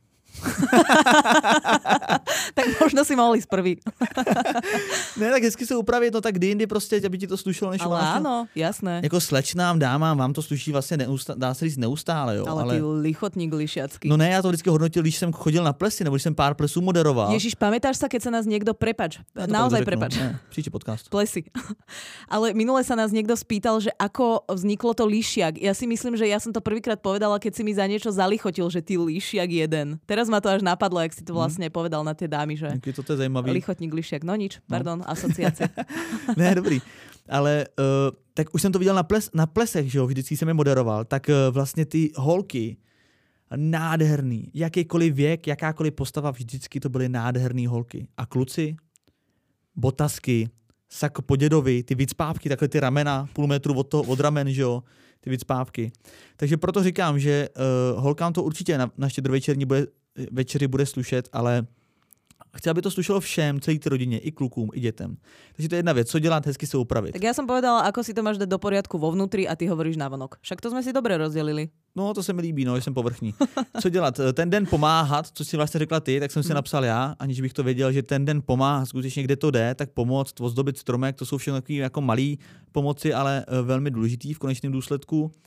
Tak možno si mohli ísť prvý. Ne, tak hezky se upravit, no tak kdy jindy prostě, aby ti to slušelo, než ale áno, jasné. Jako slečnám, dámám, vám to sluší vlastně dá se říct neustále, jo. Ale ty lichotník lišiacký. No ne, já to vždycky hodnotil, když jsem chodil na plesy, nebo když jsem pár plesů moderoval. Ježiš, pamätáš sa, keď sa nás niekto naozaj prepač. Příští podcast. Plesy. Ale minule sa nás niekto spýtal, že ako vzniklo to lišiak. Ja si myslím, že ja som to prvýkrát povedala, keď si mi za niečo zalichotil, že ty lišiak jeden. Teraz ma to až napadlo, jak si to vlastne povedal na tie dámy, že to je zajímavý. Lichotník lišiak. No nič, pardon, asociácie. Ne, dobrý. Ale tak už jsem to viděl na plesech, že jo, vždycky jsem je moderoval, tak vlastně ty holky nádherný, jakýkoliv věk, jakákoliv postava, vždycky to byly nádherný holky. A kluci, botasky, sako po dědovi, ty vicpávky, takhle ty ramena, půl metru od ramen, že jo, ty vicpávky. Takže proto říkám, že holkám to určitě na štědrovečerní večeři bude slušet, ale chci, aby to slušelo všem, celé té rodině, i klukům, i dětem. Takže to je jedna věc, co dělat, hezky se upravit. Tak já jsem povedala, ako si to máš dať do poriadku vo vnútri a ty hovoríš navonok. Však to jsme si dobře rozdělili. No, to se mi líbí, no, že jsem povrchní. Co dělat? Ten den pomáhat, co si vlastně řekla ty, tak jsem si napsal já, aniž bych to věděl, že ten den pomáhat, skutečně kde to jde, tak pomoct, ozdobit stromek, to jsou všechno takové jako malé pomoci, ale velmi důležitý v konečném důsledku.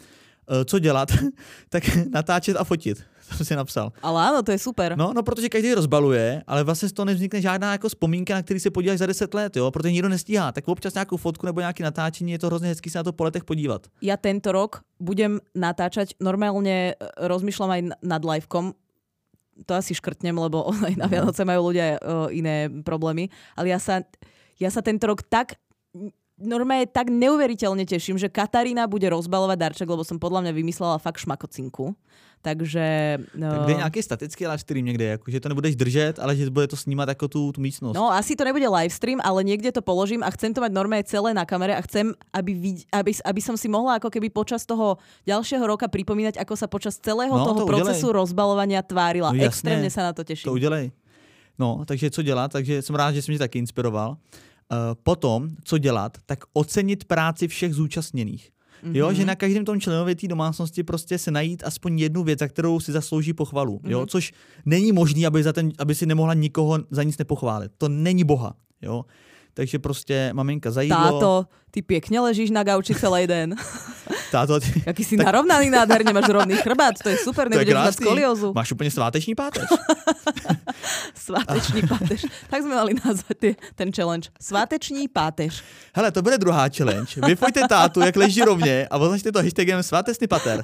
co dělat, tak natáčet a fotit. To jsem si napsal. Ale áno, to je super. No, protože každý rozbaluje, ale vlastně z toho nevznikne žádná jako vzpomínka, na který se podíváš za 10 let, jo, protože nikdo nestíhá. Tak občas nějakou fotku nebo nějaké natáčení, je to hrozně hezký se na to po letech podívat. Ja tento rok budem natáčať, normálne rozmýšľam aj nad livekom, to asi škrtnem, lebo aj na Vianoce majú ľudia iné problémy, ale ja sa tento rok tak normálne tak neuveriteľne teším, že Katarína bude rozbalovať darček, lebo som podľa mňa vymyslela fakt šmakocinku. Takže... Tak bude nějaký statický live stream někde, jako, že to nebudeš držet, ale že bude to snímat jako tu místnost. No asi to nebude live stream, ale niekde to položím a chcem to mať normálne celé na kamere a chcem, aby som si mohla ako keby počas toho ďalšieho roka pripomínať, ako sa počas celého toho procesu rozbalovania tvárila. No, extrémne sa na to teším. To udělej. No, takže co dělat? Takže jsem rád, že jsem tě taky inspiroval. Potom, co dělat, tak ocenit práci všech zúčastněných. Jo, že na každém tom členovi té domácnosti prostě se najít aspoň jednu věc, za kterou si zaslouží pochvalu. Jo, což není možný, aby si nemohla nikoho za nic nepochválit. To není boha. Jo. Takže prostě maminka za jídlo. Táto, ty pěkně ležíš na gauči celý den. Táto, jaký si narovnaný nádherně, máš rovný chrbát, to je super, nebudeš mať skoliózu. Máš úplně sváteční páteř. Sváteční páteř. Tak jsme mali nazvat ten challenge. Sváteční páteř. Hele, to bude druhá challenge. Vyfojte tátu, jak leží rovně a označte to hashtagem svátečný pater.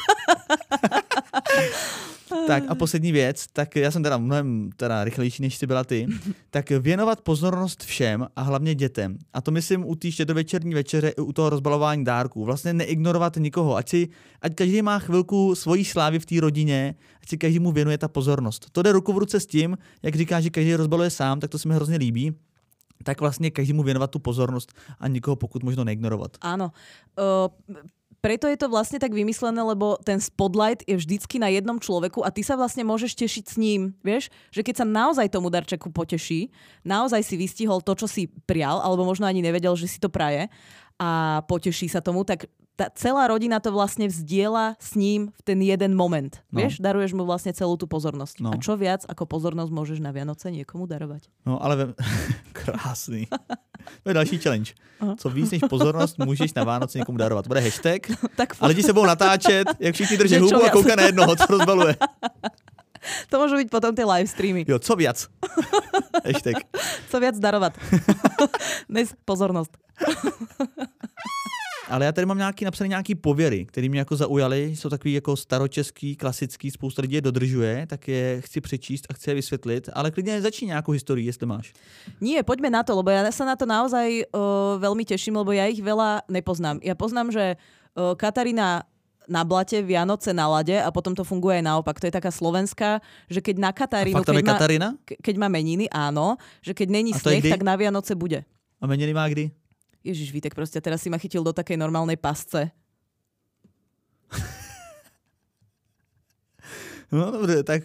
Tak a poslední věc, tak já jsem teda mnohem rychlejší, než jsi byla ty, tak věnovat pozornost všem a hlavně dětem. A to myslím u té štědrovečerní večeře i u toho rozbalování dárků. Vlastně neignorovat nikoho, ať každý má chvilku svojí slávy v té rodině, ať si každý mu věnuje ta pozornost. To jde ruku v ruce s tím, jak říká, že každý rozbaluje sám, tak to se mi hrozně líbí. Tak vlastně každému věnovat tu pozornost a nikoho pokud možno neignorovat. Áno. Preto je to vlastne tak vymyslené, lebo ten spotlight je vždycky na jednom človeku a ty sa vlastne môžeš tešiť s ním. Vieš, že keď sa naozaj tomu darčeku poteší, naozaj si vystihol to, čo si prial, alebo možno ani nevedel, že si to praje a poteší sa tomu, tak tá celá rodina to vlastne vzdiela s ním v ten jeden moment. No. Vieš, daruješ mu vlastne celú tú pozornosť. No. A čo viac ako pozornosť môžeš na Vianoce niekomu darovať? No ale krásný. To je další challenge. Co víc než pozornost můžeš na Vánoce někomu darovat. Bude hashtag a lidi se budou natáčet, jak všichni drží hubu a kouká na jednoho, co rozbaluje. To môžu byť potom tie live streamy. Jo, co viac? Hashtag. Co viac darovat. Dnes pozornost. Ale já tady mám napsané nějaký pověry, které mě jako zaujaly, jsou takový jako staročeský, klasický, spousta lidí je dodržuje, tak je chci přečíst a chci je vysvětlit, ale klidně začni nějakou historii, jestli máš. Nie, poďme na to, lebo ja sa na to naozaj veľmi teším, lebo ja ich veľa nepoznám. Ja poznám, že Katarína na blate, Vianoce na lade a potom to funguje aj naopak. To je taká slovenská, že keď na Katarínu, keď má meniny, áno, že keď není sneh, tak na Vianoce bude. A meniny má kdy? Ježiš, Vítek, proste teraz si ma chytil do takej normálnej pasce. No dobře, tak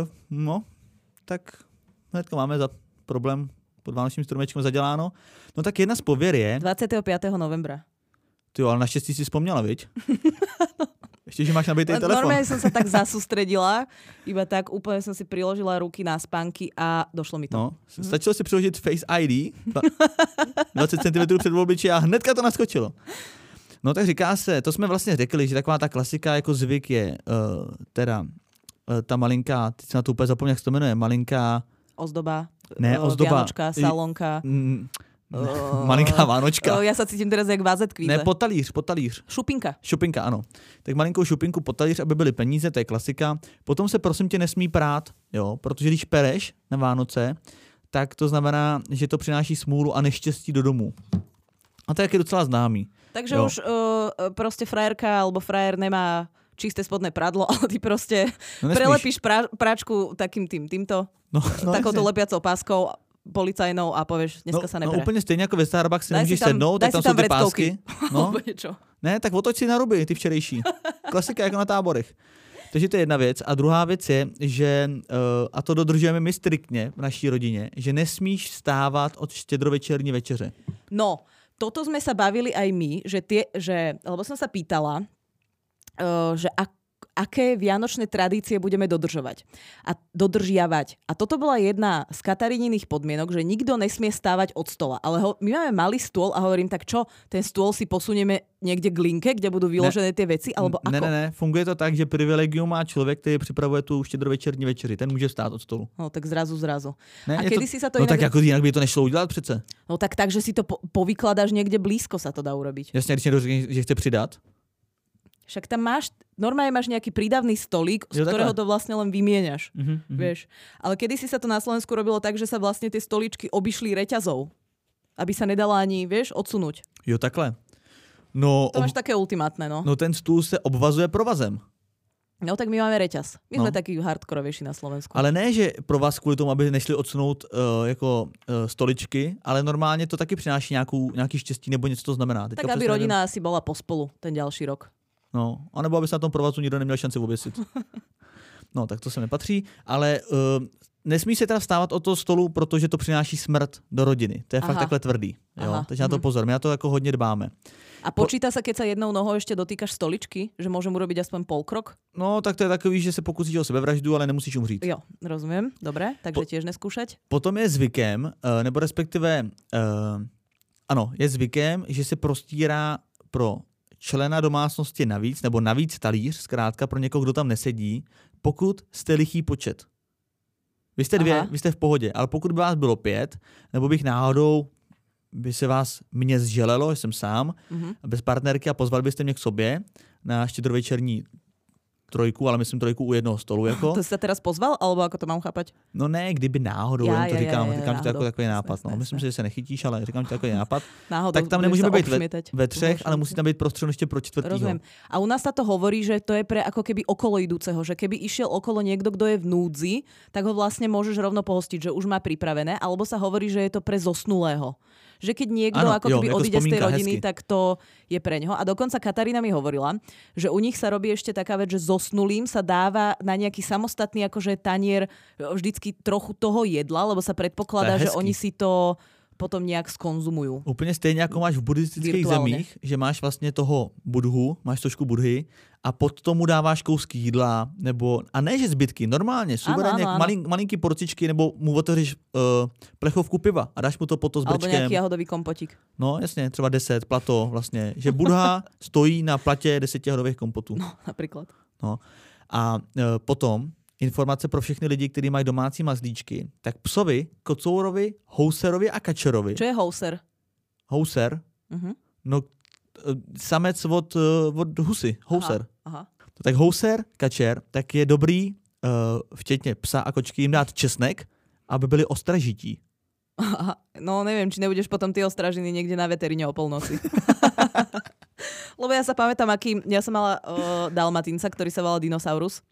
hnedka máme za problém pod vánočním stromečkem zaděláno. No tak jedna z pověr je... 25. novembra. Ty jo, ale naštěstí si vzpomněla, viď? Ještě, že máš nabitý telefon. Normálne som sa tak zasústredila, iba tak úplne som si priložila ruky na spánky a došlo mi to. No, stačilo si přiložit Face ID 20 cm před obličí a hnedka to naskočilo. No tak říká se, to jsme vlastně řekli, že taková ta klasika jako zvyk je ta malinká, teď jsem na to úplně zapomněl, jak se to jmenuje, malinká... Ozdoba. Ne, ozdoba. Vianočka, salonka. Malinká Vánočka. Ja sa cítim teraz jak vázet kvíze. Ne, potalíř. Šupinka, ano. Tak malinkou šupinku, potalíř, aby byly peníze, to je klasika. Potom se prosím tě nesmí prát, jo, protože když pereš na Vánoce, tak to znamená, že to přináší smůlu a neštěstí do domu. A to je docela známý. Takže jo. Už prostě frajerka alebo frajer nemá čisté spodné pradlo, ale ty prostě prelepíš práčku takým týmto, takouto lepiacou páskou policajnou a povieš, dneska sa nebere. No úplne stejne ako ve Starbucks si nemôžeš sednout, tak tam sú tie pásky. No. Ne, tak otoč si na ruby, ty včerejší. Klasika jako na táborech. Takže to je jedna věc. A druhá věc je, že, a to dodržujeme my striktně v naší rodině, že nesmíš vstávat od štědrovečerní večeře. No, toto sme sa bavili aj my, lebo som sa pýtala, že aké vianočné tradície budeme dodržiavať. A toto bola jedna z Kataríniných podmienok, že nikto nesmie stávať od stola. Ale my máme malý stôl a hovorím, tak čo, ten stôl si posunieme niekde k linke, kde budú vyložené tie veci, alebo ako? Ne, funguje to tak, že privilegium má človek, ktorý pripravuje tú štědrovečerní večeři. Ten môže stát od stolu. No tak zrazu. Ne, a kedy si sa to no inak... tak ako inak by to nešlo udělat přece. No tak že si to povykladáš niekde blízko, sa to dá urobiť. Jasne, když niekto řekne, že chce přidat. Však tam normálne máš nejaký prídavný stolík, z ktorého to vlastne len vymieňaš. Vieš. Ale kedysi sa to na Slovensku robilo tak, že sa vlastne tie stoličky obišli reťazou. Aby sa nedala ani, vieš, odsunúť. Jo, takhle. No, to máš také ultimátne, no. No ten stůl se obvazuje provazem. No tak my máme reťaz. My sme takí hardkorovejší na Slovensku. Ale ne, že pro vás kvůli tomu, aby nešli odsunout stoličky, ale normálně to taky přináší nějaký štěstí nebo něco to znamená. Teďka tak aby rodina asi bola pospolu ten ďalší rok. No, anebo aby se na tom provazu nikdo neměl šanci oběsit. No, tak to se nepatří, ale nesmí se teda vstávat od toho stolu, protože to přináší smrt do rodiny. To je fakt takhle tvrdý. Jo? Takže na to pozor, my na to jako hodně dbáme. A počíta sa, keď sa jednou nohou ešte dotýkaš stoličky, že môžem urobiť aspoň polkrok? No, tak to je takový, že se pokusíš o sebevraždu, ale nemusíš umřít. Jo, rozumiem. Dobre, takže tiež neskúšať. Potom je zvykem, nebo respektive, ano, je zvykem, že se prostírá pro člena domácnosti navíc, nebo navíc talíř, zkrátka pro někoho, kdo tam nesedí, pokud jste lichý počet. Vy jste vy jste v pohodě, ale pokud by vás bylo 5, nebo bych náhodou by se vás mě zželelo, že jsem sám, bez partnerky a pozvali byste mě k sobě na štědrovečerní trojku, ale myslím trojku u jednoho stolu. Jako. To jsi sa teraz pozval, alebo ako to mám chápať? No ne, kdyby náhodou, říkám ti to jako takový nápad. Jasné, no. Myslím si, že se nechytíš, ale říkám ti takový nápad. Náhodou, tak tam nemůžeme být ve třech, ale musí tam být prostřed ještě pro čtvrtýho. Rozumiem. A u nás sa to hovorí, že to je pre ako keby okolo idúceho, že keby išiel okolo niekto, kto je v núdzi, tak ho vlastne môžeš rovno pohostiť, že už má pripravené, alebo sa hovorí, že je to pre zosnulého. Že keď niekto keby odíde z tej rodiny, hezky. Tak to je pre ňoho. A dokonca Katarína mi hovorila, že u nich sa robí ešte taká vec, že zosnulým sa dáva na nejaký samostatný akože tanier vždycky trochu toho jedla, lebo sa predpokladá, že oni si to potom nějak skonzumujú. Úplně stejně jako máš v buddhistických zemích, že máš vlastně toho budhu, máš trošku budhy a pod tomu dáváš kousky jídla, nebo, a ne že zbytky, normálně, suverénně, malinký porcičky, nebo mu otevřeš plechovku piva a dáš mu to pod to s brčkem. Alebo nějaký jahodový kompotík. No jasně, třeba 10, plato vlastně, že Buddha stojí na platě 10 jahodových kompotů. No, například. No. A potom informace pro všechny lidi, kteří mají domácí mazlíčky, tak psovi, kocourovi, houserovi a kačerovi. Čo je houser? Houser? No, samec od husy. Houser. Aha. Tak houser, kačer, tak je dobrý, včetně psa a kočky, jim dát česnek, aby byli ostražití. Aha. No neviem, či nebudeš potom ty ostražiny niekde na veteríne o polnoci. Lebo ja sa pamätám, ja som mala dalmatínca, ktorý sa volal Dinosaurus.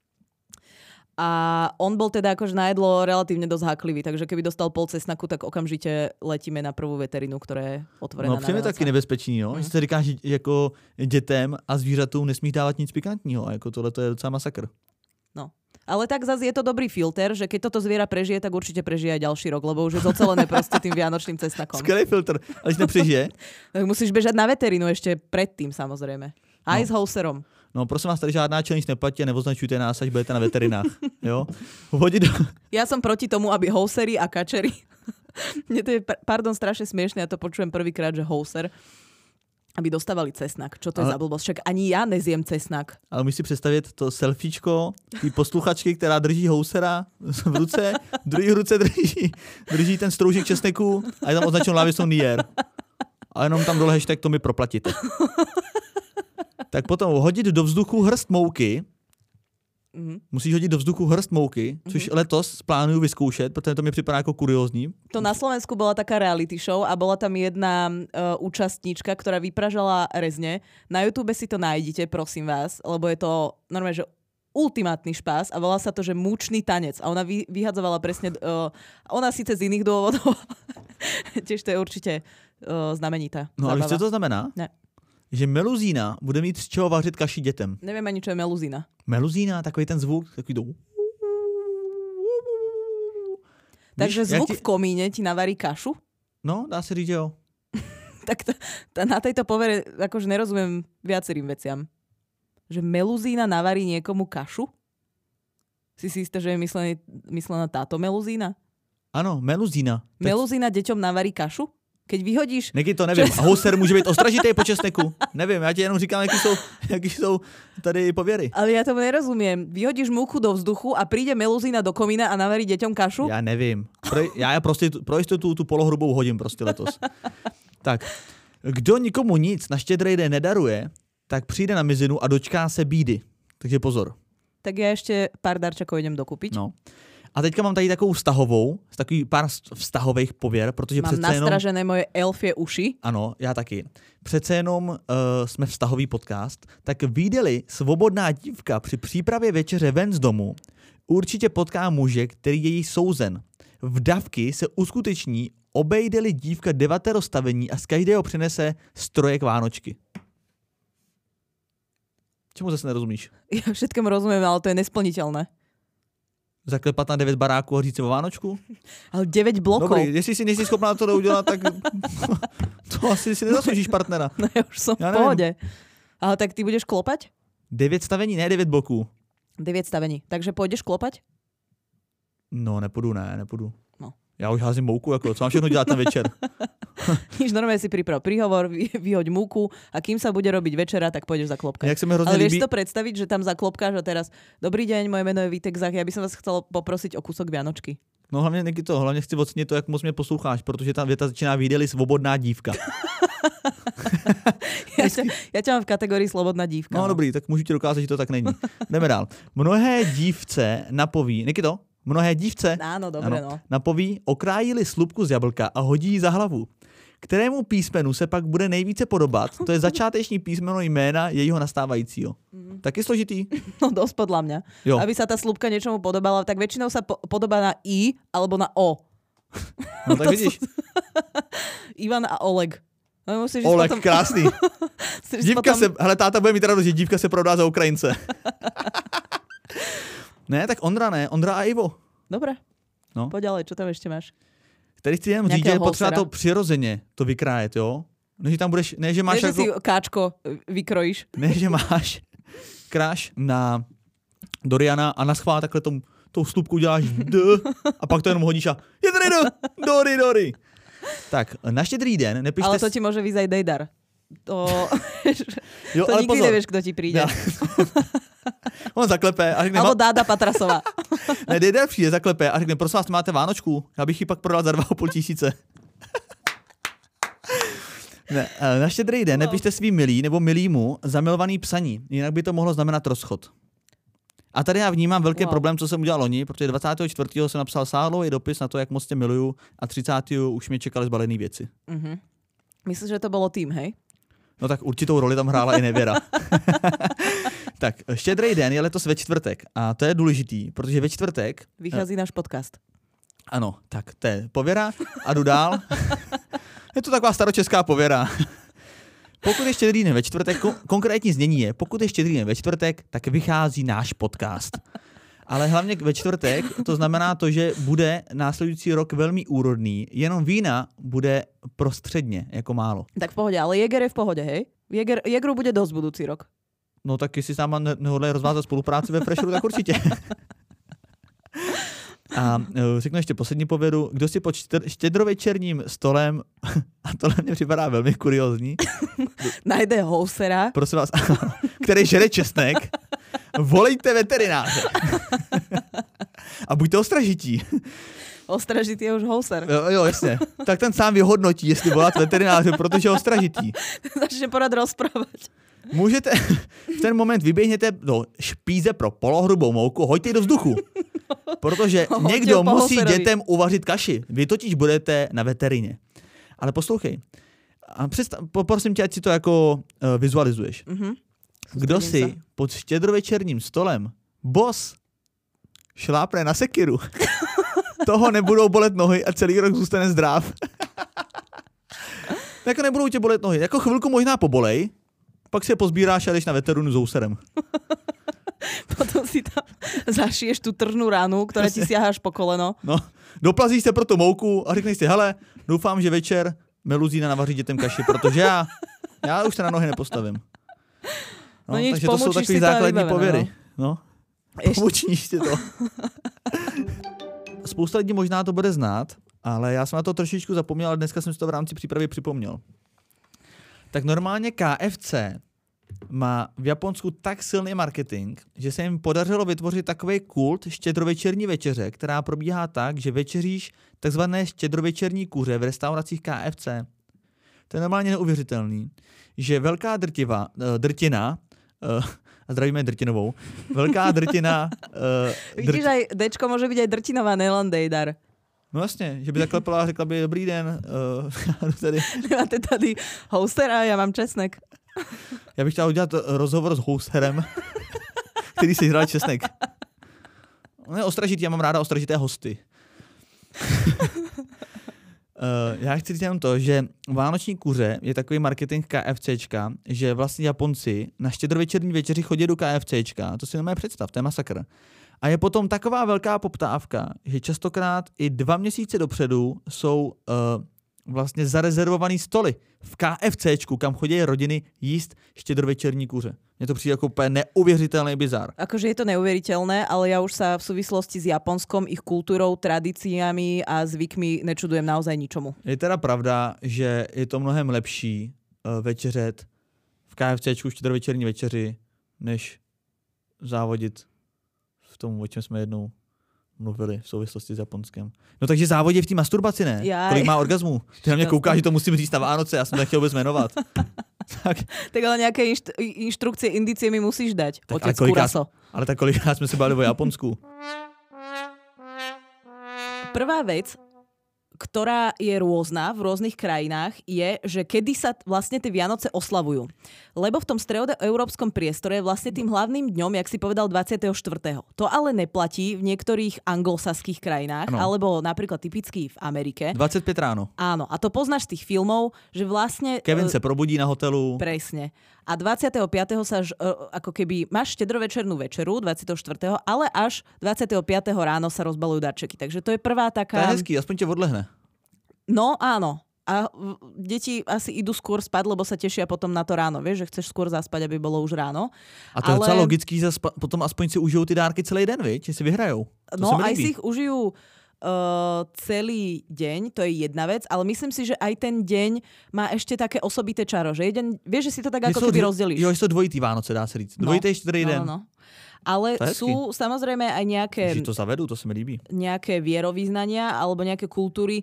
A on bol teda akože na jedlo relatívne dosť háklivý, takže keby dostal pol cesnaku, tak okamžite letíme na prvú veterinu, ktorá je otvorená. No přijde taky nebezpečný, no? Že se říká, že jako dětem a zvířatům nesmíš dávat nic pikantního a jako tohle to je docela masakr. No. Ale tak zase je to dobrý filter, že keď toto zviera prežije, tak určite prežije aj ďalší rok, lebo už je zocelené proste tým vianočným cesnakom. Skvelý filter, ale když nepřežije. Tak musíš bežať na veterinu ešte predtým samozrejme. Aj s houserom. No prosím vás, tady žádná challenge neplatí a neoznačujte nás, až budete na veterinách. Jo? Ja som proti tomu, aby housery a kačery. Mne to je, strašne smiešne, ja to počujem prvýkrát, že houser, aby dostávali cesnak. Čo to je za blbosť? Však ani ja nezjem cesnak. Ale musíš si představit to selfiečko, ty posluchačky, která drží housera v ruce, v druhé ruce drží ten stroužek česneku a je tam označeno Laviso Nier. A jenom tam dole hashtag to mi proplatíte. Tak potom hodit do vzduchu hrst mouky. Musíš hodit do vzduchu hrst mouky, což letos plánuju vyzkoušet, protože to mi připadá jako kuriózní. To na Slovensku bola taká reality show a bola tam jedna účastníčka, ktorá vypražala rezne. Na YouTube si to nájdete, prosím vás, lebo je to normálne, že ultimátny špás a volá sa to, že múčný tanec. A ona vyhadzovala presne, ona síce z iných dôvodov, tiež to je určite znamenitá. No ale co to znamená? Ne. Že meluzína bude mít z čeho vařit kaši dětem. Neviem ani, čo je meluzína. Meluzína, takový ten zvuk, takový to... Takže zvuk v komíne ti navarí kašu? No, dá se říct, že jo. Tak na tejto povere akože nerozumiem viacerým veciam. že meluzína navarí niekomu kašu? Si istá, že je myslená táto meluzína? Ano, meluzína. Meluzína deťom navarí kašu? Keď vyhodíš... Neky to nevím. A houser může být ostražitý po česneku. Nevím, já ti jenom říkám, jaký jsou tady pověry. Ale ja tomu nerozumiem. Vyhodíš múku do vzduchu a príde meluzína do komína a navarí deťom kašu? Já nevím. Já prostě pro jistotu tu polohrubou hodím prostě letos. Tak, kdo nikomu nic na Štědrý den nedaruje, tak přijde na mizinu a dočká se bídy. Takže pozor. Tak ja ešte pár darčekov idem dokúpiť. No. A teďka mám tady takovou takový pár vztahových pověr, protože mám přece jenom... nastražené moje elfie uši. Ano, já taky. Přece jenom jsme vztahový podcast, tak vyjde-li svobodná dívka při přípravě večeře ven z domu, určitě potká muže, který je jí souzen. V davky se uskuteční, obejde-li dívka 9 stavení a z každého přinese strojek Vánočky. Čemu zase nerozumíš? Ja všetkému rozumiem, ale to je nesplniteľné. Zaklepat na 9 baráků a říct si o Vánočku? Ale 9 blokov. Dobrý, jestli si nejsi schopná to udělat, tak to asi si nezasloužíš partnera. No ja už som v pohode. Ale tak ty budeš klopať? 9 stavení, ne 9 bloků. 9 stavení. Takže pôjdeš klopať? No, nepůjdu. No. Já už házím mouku, jako, co mám všechno dělat ten večer? Nič, normálne si priprav príhovor, vyhoď múku a kým sa bude robiť večera, tak pôjdeš zaklopkať. Jak sa mi hrozne ale vieš líbí... si to predstaviť, že tam zaklopkáš a teraz dobrý deň, moje meno je Vítek Zach, ja by som vás chcel poprosiť o kúsok Vianočky. No hlavně hlavně chci ocenit to, jak moc mě posloucháš, protože ta věta začíná vyjde-li svobodná dívka. ja ťa mám v kategórii slobodná dívka. No dobrý, tak můžu ti dokázat, že to tak není. Jdeme dál. Mnohé dívce napoví, Nikito? Mnohé dívce napoví, okrájili slupku z jablka a hodí ji za hlavu. Kterému písmenu se pak bude nejvíce podobat, to je začáteční písmeno jména jejího nastávajícího. Taky složitý? No dosť podľa mňa. Jo. Aby sa tá slupka niečomu podobala, tak väčšinou sa podobá na I alebo na O. No tak vidíš. Ivan a Oleg. No, Oleg, potom... krásný. Dívka potom... hele, táta bude mít radost, že dívka se prodá za Ukrajince. Ne, tak Ondra a Ivo. Dobre. No. Poď ďalej, čo tam ešte máš? Tady chci jenom říct, že je potřeba to přirozeně to vykrájet, jo? Ne, že tam budeš, ne, že máš... Ne, že si káčko vykrojíš. Ne, že máš kráš na Doriana a naschvál takhle tou slupku děláš a pak to jenom hodíš a je tady Dori. Tak, na Štědrý den nepište... Ale to ti môže vyjsť aj Dejdar. To nikdy pozor. Nevieš, kdo ti príde. Ja. On zaklepe a řekne... Alebo Dáda Patrasová. Ne, Dejdar přijde, zaklepe a řekne, prosím vás, máte Vánočku? Já bych ji pak prodal za 2,5 tisíce. Ne, na Štědrý den nepište svým milý nebo milýmu zamilovaný psaní, jinak by to mohlo znamenat rozchod. A tady já vnímám velký problém, co jsem udělal loni, protože 24. jsem napsal sáhlový dopis na to, jak moc tě miluju a 30. už mě čekaly zbalený věci. Mm-hmm. Myslíš, že to bylo tým, hej? No tak určitou roli tam hrála i nevěra. Tak, Štědrý den je letos ve čtvrtek a to je důležitý, protože ve čtvrtek... Vychází náš podcast. Ano, tak to je pověra a jdu dál. Je to taková staročeská pověra. Pokud je Štědrý den ve čtvrtek, konkrétní znění je, pokud je Štědrý den ve čtvrtek, tak vychází náš podcast. Ale hlavně ve čtvrtek to znamená to, že bude následující rok velmi úrodný, jenom vína bude prostředně, jako málo. Tak v pohodě, ale Jäger je v pohodě, hej? Jägeru bude dosť budúci rok. No tak jestli s náma nehodlají rozvázat spolupráci ve Fresheru, tak určitě. A řeknu ještě poslední povědu. Kdo si pod štědrovečerním stolem, a tohle mě připadá velmi kuriózní, najde housera, prosím vás, který žere česnek, volejte veterináře. A buďte ostražití. Ostražitý je už houser. Jo, jasně. Tak ten sám vyhodnotí, jestli volat veterináře, protože je ostražitý. Začne porad rozprávať. Můžete, v ten moment vyběhněte do špíze pro polohrubou mouku, hoďte ji do vzduchu. Protože někdo musí dětem uvařit kaši. Vy totiž budete na veterině. Ale poslouchej. A poprosím tě, ať si to jako vizualizuješ. Mm-hmm. Kdo si pod štědrovečerním stolem boss šlápne na sekiru, toho nebudou bolet nohy a celý rok zůstane zdrav. Jako nebudou tě bolet nohy. Jako chvilku možná pobolej, pak si je pozbíráš a jdeš na veterinu s ouserem. Potom si tam zašiješ tu tržnú ránu, ktorá ti siaháš po koleno. No, doplazíš se pro tu mouku a řekneš si, hele, doufám, že večer meluzína navaří dětem kaši, protože já už se na nohy nepostavím. No nič, takže to jsou takové základní pověry. No. Pomočníš si to. Spousta lidí možná to bude znát, ale já jsem na to trošičku zapomněl, ale dneska jsem si to v rámci přípravy připomněl. Tak normálně KFC má v Japonsku tak silný marketing, že se jim podařilo vytvořit takový kult štědrovečerní večeře, která probíhá tak, že večeříš takzvané štědrovečerní kuře v restauracích KFC. To je normálně neuvěřitelný, že velká drtina, a zdravíme Drtinovou, velká drtina... Vidíš, aj Dčko může být aj Drtinová, nejen Dejdar. No jasně, že by zaklepala a řekla by dobrý den. Tady. Máte tady hostera, já mám česnek. Já bych chtěl udělat rozhovor s hosterem, který si hrál česnek. On je ostražitý, já mám ráda ostražité hosty. Já chci říct jenom to, že vánoční kuře je takový marketing KFCčka, že vlastně Japonci na štědrovečerní večeři chodí do KFCčka. To si nemůže představ, to je masakr. A je potom taková velká poptávka, že častokrát i 2 měsíce dopředu jsou vlastně zarezervovaný stoly v KFCčku, kam chodí rodiny jíst štědrovečerní kuře. Mně to přijde jako úplně neuvěřitelný bizar. Akože je to neuvěřitelné, ale ja už sa v súvislosti s Japonskom, ich kultúrou, tradíciami a zvykmi nečudujem naozaj ničomu. Je teda pravda, že je to mnohem lepší večeřet v KFCčku štědrovečerní večeři, než závodit v tom, o čem jsme jednou mluvili v souvislosti s Japonskem. No takže závodí v té masturbaci, ne? Jaj. Kolik má orgazmů? Ty na mě koukáš, že to musím říct na Vánoce, já jsem to nechtěl vůbec jmenovat. Tak ale nějaké inštrukcie, indicie mi musíš dať, tak, otec Kuraso. Ale tak kolikrát jsme se bavili o Japonsku. Prvá vec, ktorá je rôzna v rôznych krajinách, je, že kedy sa vlastne tie Vianoce oslavujú. Lebo v tom stredoeurópskom priestore je vlastne tým hlavným dňom, jak si povedal, 24. To ale neplatí v niektorých anglosaských krajinách, alebo napríklad typicky v Amerike. 25 ráno. Áno, a to poznáš z tých filmov, že vlastne... Kevin se probudí na hotelu. Presne. A 25. sa ako keby máš štedrovečernú večeru, 24. ale až 25. ráno sa rozbalujú darčeky. Takže to je prvá taká... To je hezký, aspoň tě odlehne. No áno. A deti asi idú skôr spať, lebo sa tešia potom na to ráno. Vieš, že chceš skôr zaspať, aby bolo už ráno. A to je docela logický, potom aspoň si užijou ty dárky celý den, viď? Že si vyhrajou. No aj si ich užijú celý deň, to je jedna vec, ale myslím si, že aj ten deň má ešte také osobité čaro, že jeden, vieš, že si to tak ako keby rozdelíš. Jo, že to dvojitý Vánoce, dá se říct. Dvojitý štědrý den. No. Ale sú samozrejme aj nejaké... Že to zavedú, to sa mi líbí. Nejaké vierovýznania alebo nejaké kultúry,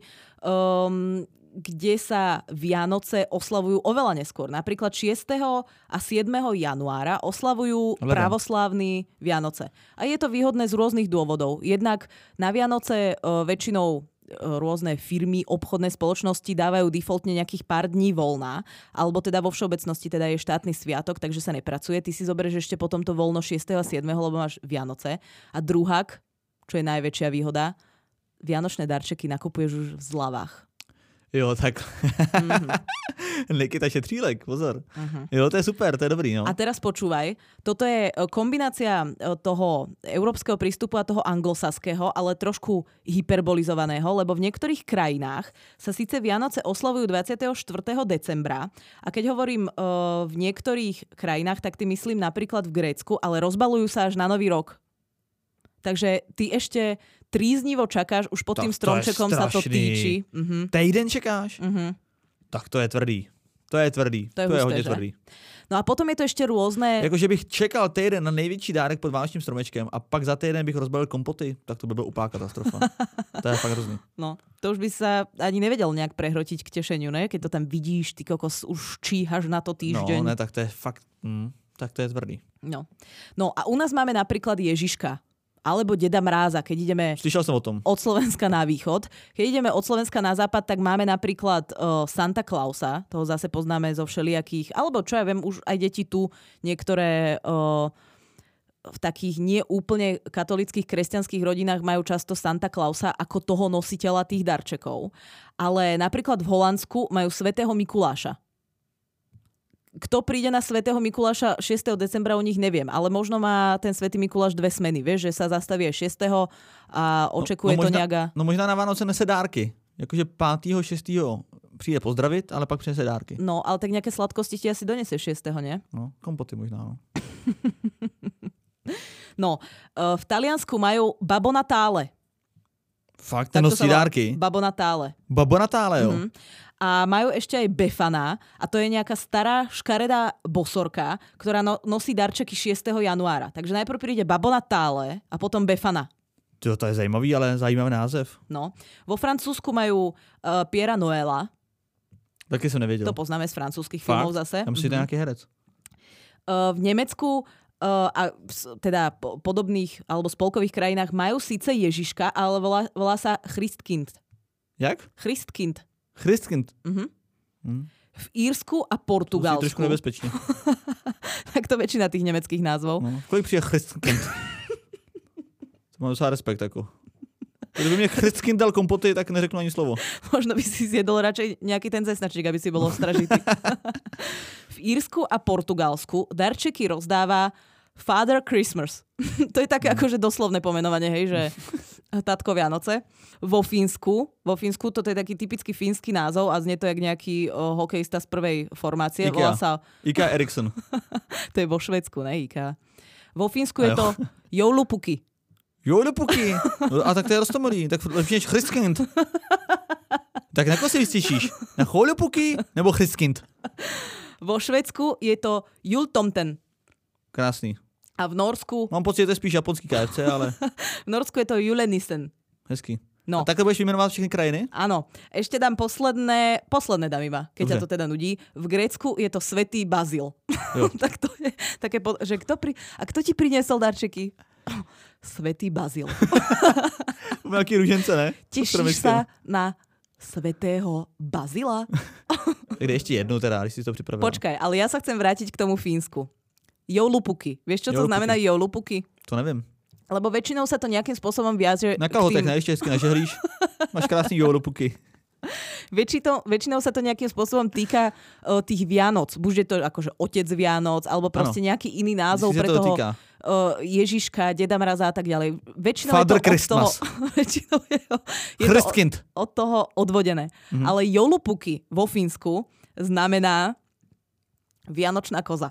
kde sa Vianoce oslavujú oveľa neskôr. Napríklad 6. a 7. januára oslavujú pravoslávni Vianoce. A je to výhodné z rôznych dôvodov. Jednak na Vianoce väčšinou rôzne firmy, obchodné spoločnosti dávajú defaultne nejakých pár dní voľna, alebo teda vo všeobecnosti teda je štátny sviatok, takže sa nepracuje. Ty si zoberieš ešte potom to voľno 6. a 7., lebo máš Vianoce. A druhák, čo je najväčšia výhoda, vianočné darčeky nakupuješ už v zľavách. Jo, tak. Nikita Šetřílek, pozor. Jo, to je super, to je dobrý, no. A teraz počúvaj, toto je kombinácia toho európskeho prístupu a toho anglosaského, ale trošku hyperbolizovaného, lebo v niektorých krajinách sa síce Vianoce oslavujú 24. decembra a keď hovorím v niektorých krajinách, tak ty myslím napríklad v Grécku, ale rozbalujú sa až na Nový rok. Takže ty ešte tríznivo čakáš, už pod tým stromčekom sa to týči. Týden čekáš? Tak to je tvrdý. To je tvrdý. To je hodně tvrdý. No a potom je to ešte rôzne... Jakože bych čekal týden na největší dárek pod vánočním stromečkem a pak za týden bych rozbalil kompoty, tak to by byla úplná katastrofa. To je fakt hrozný. No, to už by sa ani nevedel nejak prehrotiť k tešeniu, ne? Keď to tam vidíš, ty kokos, už číhaš na to týždeň. No, ne, tak to je fakt... tak to je tvrdý. No a u nás máme napríklad Ježiška. Alebo Deda Mráza, keď ideme Slyšel som o tom. Od Slovenska na východ. Keď ideme od Slovenska na západ, tak máme napríklad Santa Clausa, toho zase poznáme zo všelijakých, alebo čo ja viem, už aj deti tu niektoré v takých neúplne katolických kresťanských rodinách majú často Santa Clausa ako toho nositeľa tých darčekov. Ale napríklad v Holandsku majú Svätého Mikuláša. Kto príde na Svätého Mikuláša 6. decembra, u nich neviem, ale možno má ten Svätý Mikuláš 2 smeny, vieš, že sa zastaví aj 6. a očekuje to nejaká... No možná na Vánoce nese dárky, jakože 5. 6. přijde pozdravit, ale pak přinese dárky. No, ale tak nejaké sladkosti ti asi donese 6. nie? No, kompoty možná, no. No, v Taliansku majú Babbo Natale. Fakt, ten nosí dárky. Babbo Natale. Babbo Natale, jo. A majú ešte aj Befana a to je nejaká stará škaredá bosorka, ktorá nosí darčeky 6. januára. Takže najprv príde Babbo Natale a potom Befana. To je zajímavý, ale zajímavý název. No. Vo Francúzsku majú Piera Noela. Taky som nevedel. To poznáme z francúzskych filmov zase. Tam si to nejaký herec. V Nemecku a teda podobných alebo spolkových krajinách majú síce Ježiška, ale volá sa Christkind. Jak? Christkind. Christkind. V Írsku a Portugalsku. To je trošku nebezpečne. Tak to väčšina tých nemeckých názvov. No. Kolik přijde Christkind? To mám docela respekt, ako. Kdyby mě Christkind dal kompoty, tak neřeknu ani slovo. Možno by si zjedol radšej nejaký ten cesnačík, aby si bol ostražitý. V Írsku a Portugalsku darčeky rozdáva Father Christmas. To je také akože doslovné pomenovanie, hej, že Tatko Vianoce. Vo Fínsku, toto je taký typický fínsky názov a znie to jak nejaký hokejista z prvej formácie. Ikea. Sa... Ika Eriksson. To je vo Švédsku, ne Ikea. Vo Fínsku je to joulupuky. Joulupuky. A tak to je roztomilý. Tak lepší než Christkind. Tak na koho si vystěšíš? Na joulupuky nebo Christkind? Vo Švédsku je to jultomten. Krásný. A v Norsku... Mám pocit, že to je spíš japonský KFC, ale... V Norsku je to julenissen. Hezký. No. A takhle budeš vymenovat všechny krajiny? Áno. Ešte dám posledné dám iba, keď ťa to teda nudí. V Grécku je to Svätý Bazil. Tak to je také, že kto ti priniesol darčeky? Svätý Bazil. Veľký ružence, ne? Tešíš sa na Svätého Bazila? Tak ešte jednu teda, když si to připravil. Počkaj, ale ja sa chcem vrátiť k tomu Fínsku. Joulupuky. Vieš, čo to znamená joulupuky? To neviem. Lebo väčšinou sa to nejakým spôsobom viaže... Na kalhotech, ne? Ešte hezky nažehlíš. Máš krásný joulupuky. Väčšinou sa to nejakým spôsobom týka tých Vianoc. Buď je to akože otec Vianoc, alebo proste nejaký iný názov pre toho Ježiška, Deda Mraza a tak ďalej. Väčšinou Father je to Christmas. Väčšinou je to od toho odvodené. Ale joulupuky vo Fínsku znamená Vianočná koza.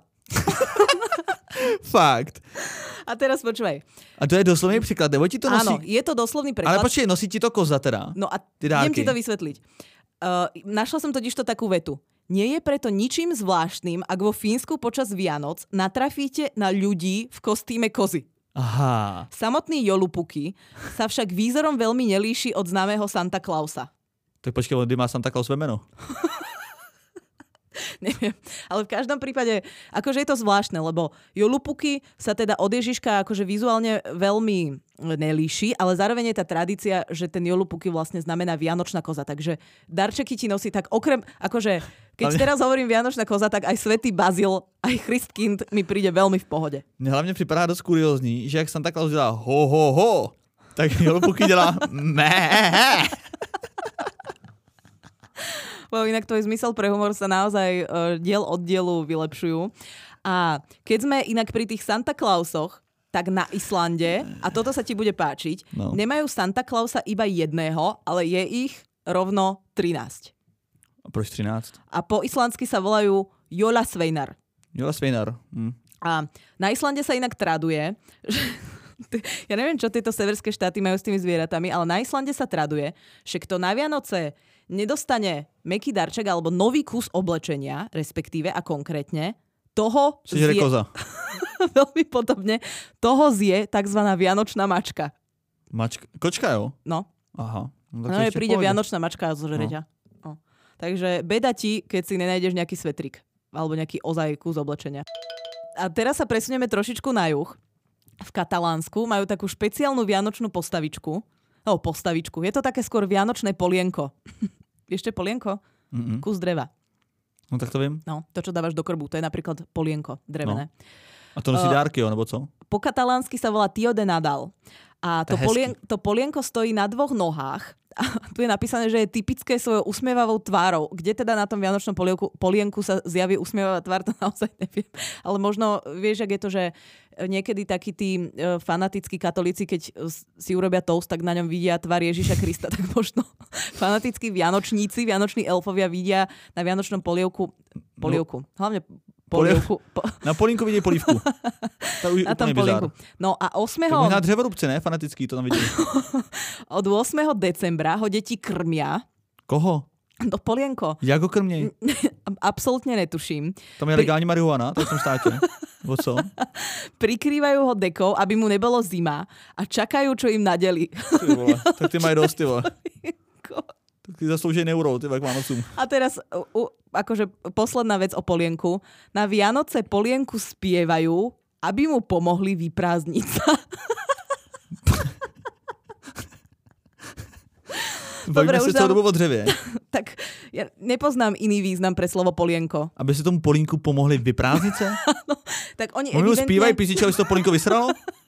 Fakt. A teraz počúvaj. A to je doslovný príklad, nebo ti to nosí? Áno, je to doslovný preklad. Ale počkej, nosí ti to koza teda? No a idem ti to vysvetliť. Našla som totižto takú vetu. Nie je preto ničím zvláštnym, ak vo Fínsku počas Vianoc natrafíte na ľudí v kostýme kozy. Aha. Samotný joulupuky sa však výzorom veľmi nelíši od známeho Santa Clausa. Tak počkej, kdy má Santa Claus meno? Neviem, ale v každom prípade, akože je to zvláštne, lebo joulupuky sa teda od Ježiška akože vizuálne veľmi nelíši, ale zároveň je tá tradícia, že ten joulupuky vlastne znamená Vianočná koza, takže darčeky ti nosí tak okrem, akože keď teraz hovorím Vianočná koza, tak aj Svätý Bazil, aj Christkind mi príde veľmi v pohode. Mne hlavne připadá dosť kuriózní, že jak Santa Claus dělá ho, ho, ho, tak joulupuky dělá mé. Inak tvoj zmysel pre humor sa naozaj diel od dielu vylepšujú. A keď sme inak pri tých Santa Clausoch, tak na Islande, a toto sa ti bude páčiť, nemajú Santa Clausa iba jedného, ale je ich rovno 13. A proč 13? A po islandsky sa volajú Jólasveinar. Jólasveinar. A na Islande sa inak traduje, že ja neviem, čo tieto severské štáty majú s tými zvieratami, ale na Islande sa traduje, že kto na Vianoce nedostane mäkký darček alebo nový kus oblečenia, respektíve a konkrétne, toho zje... koza. Veľmi podobne, toho zje takzvaná vianočná mačka. Kočka, jo? No. Aha. No príde vianočná mačka a zožere ťa. No. Takže beda ti, keď si nenájdeš nejaký svetrik alebo nejaký ozaj kus oblečenia. A teraz sa presunieme trošičku na juh. V Katalánsku majú takú špeciálnu vianočnú postavičku. No, postavičku. Je to také skôr vianočné polienko. Ešte polienko? Kus dreva. No tak to viem. No, to, čo dávaš do krbu. To je napríklad polienko drevené. No. A to nosí dárky, nebo co? Po katalánsky sa volá Tio de Nadal. A to polienko stojí na dvoch nohách. A tu je napísané, že je typické svojou usmievavou tvárou. Kde teda na tom vianočnom polienku sa zjaví usmievavá tvár, to naozaj neviem. Ale možno, vieš, ak je to, že niekedy takí tí fanatickí katolíci, keď si urobia toast, tak na ňom vidia tvár Ježiša Krista, tak možno fanatickí vianočníci, vianoční elfovia vidia na vianočnom polievku, hlavne polievku. Na polínku vidí polívku. To už Na tom úplný bizár. polínku. No a 8. To možná dřevorubce, ne? Fanatický, to tam vidí. Od 8. decembra ho deti krmia. Koho? No polienko. Jak ho krměj? Absolútne netuším. Tam je legální marihuana, to je v tom státě. Nebo co? Prikrývajú ho dekou, aby mu nebolo zima a čakajú, čo im nadeli. Ty vole, tak ty mají dost, ty vole. Tak ty zaslouží euro, ty k Vánocům. A teraz, akože posledná vec o polienku. Na Vianoce polienku spievajú, aby mu pomohli vyprázdniť sa. Bavíme se celou dobu o dřevě. Tak ja nepoznám iný význam pre slovo polienko. Aby si tomu polínku pomohli vyprázdnit se? No, tak oni Oni mu evidentne... zpívají písničku, aby se to polínko vysralo?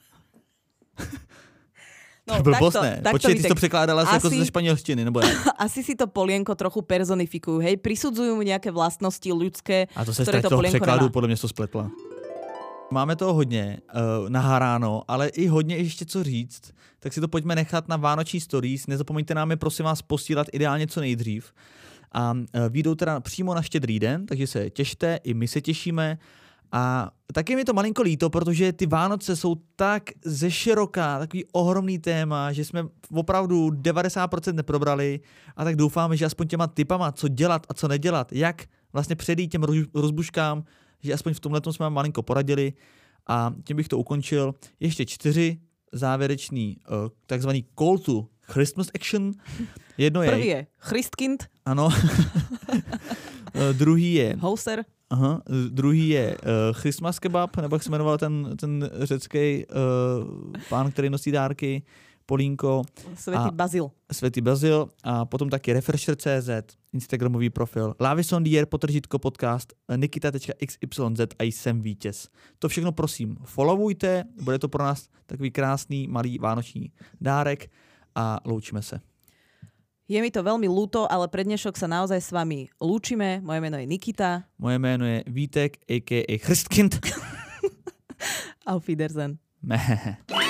No, blbost ne. Počkej, ty jsi to tak překládala jako ze španělštiny, nebo ne? Asi si to polienko trochu personifikujú, hej? Prisudzujú mu nejaké vlastnosti ľudské, A to se ktoré z to toho polienko překládu, nemá. podle mě to spletla. Máme toho hodně naháráno, ale i hodně ještě co říct, tak si to pojďme nechat na vánoční stories. Nezapomeňte nám je prosím vás posílat ideálně co nejdřív. A vyjdou teda přímo na Štědrý den, takže se těšte, i my se těšíme. A taky mi to malinko líto, protože ty Vánoce jsou tak zeširoká, takový ohromný téma, že jsme opravdu 90% neprobrali a tak doufáme, že aspoň těma tipama, co dělat a co nedělat, jak vlastně předejít těm rozbuškám, že aspoň v tomhletom jsme vám malinko poradili a tím bych to ukončil. Ještě 4 závěrečný takzvaný call to Christmas action. Jedno je... Prvý je Christkind. Ano. Druhý je... Houser. Aha, druhý je Christmas kebab, nebo jak se jmenoval ten řecký pán, který nosí dárky, Polínko. Světý Bazil a potom taky Refresher.cz, Instagramový profil, Lavisondier, _podcast, nikita.xyz a jsem vítěz. To všechno prosím followujte, bude to pro nás takový krásný malý vánoční dárek a loučíme se. Je mi to veľmi ľúto, ale pre dnešok sa naozaj s vami lúčime. Moje meno je Nikita. Moje meno je Vítek, a.k.a. Christkind. Auf Wiedersehen. Meh.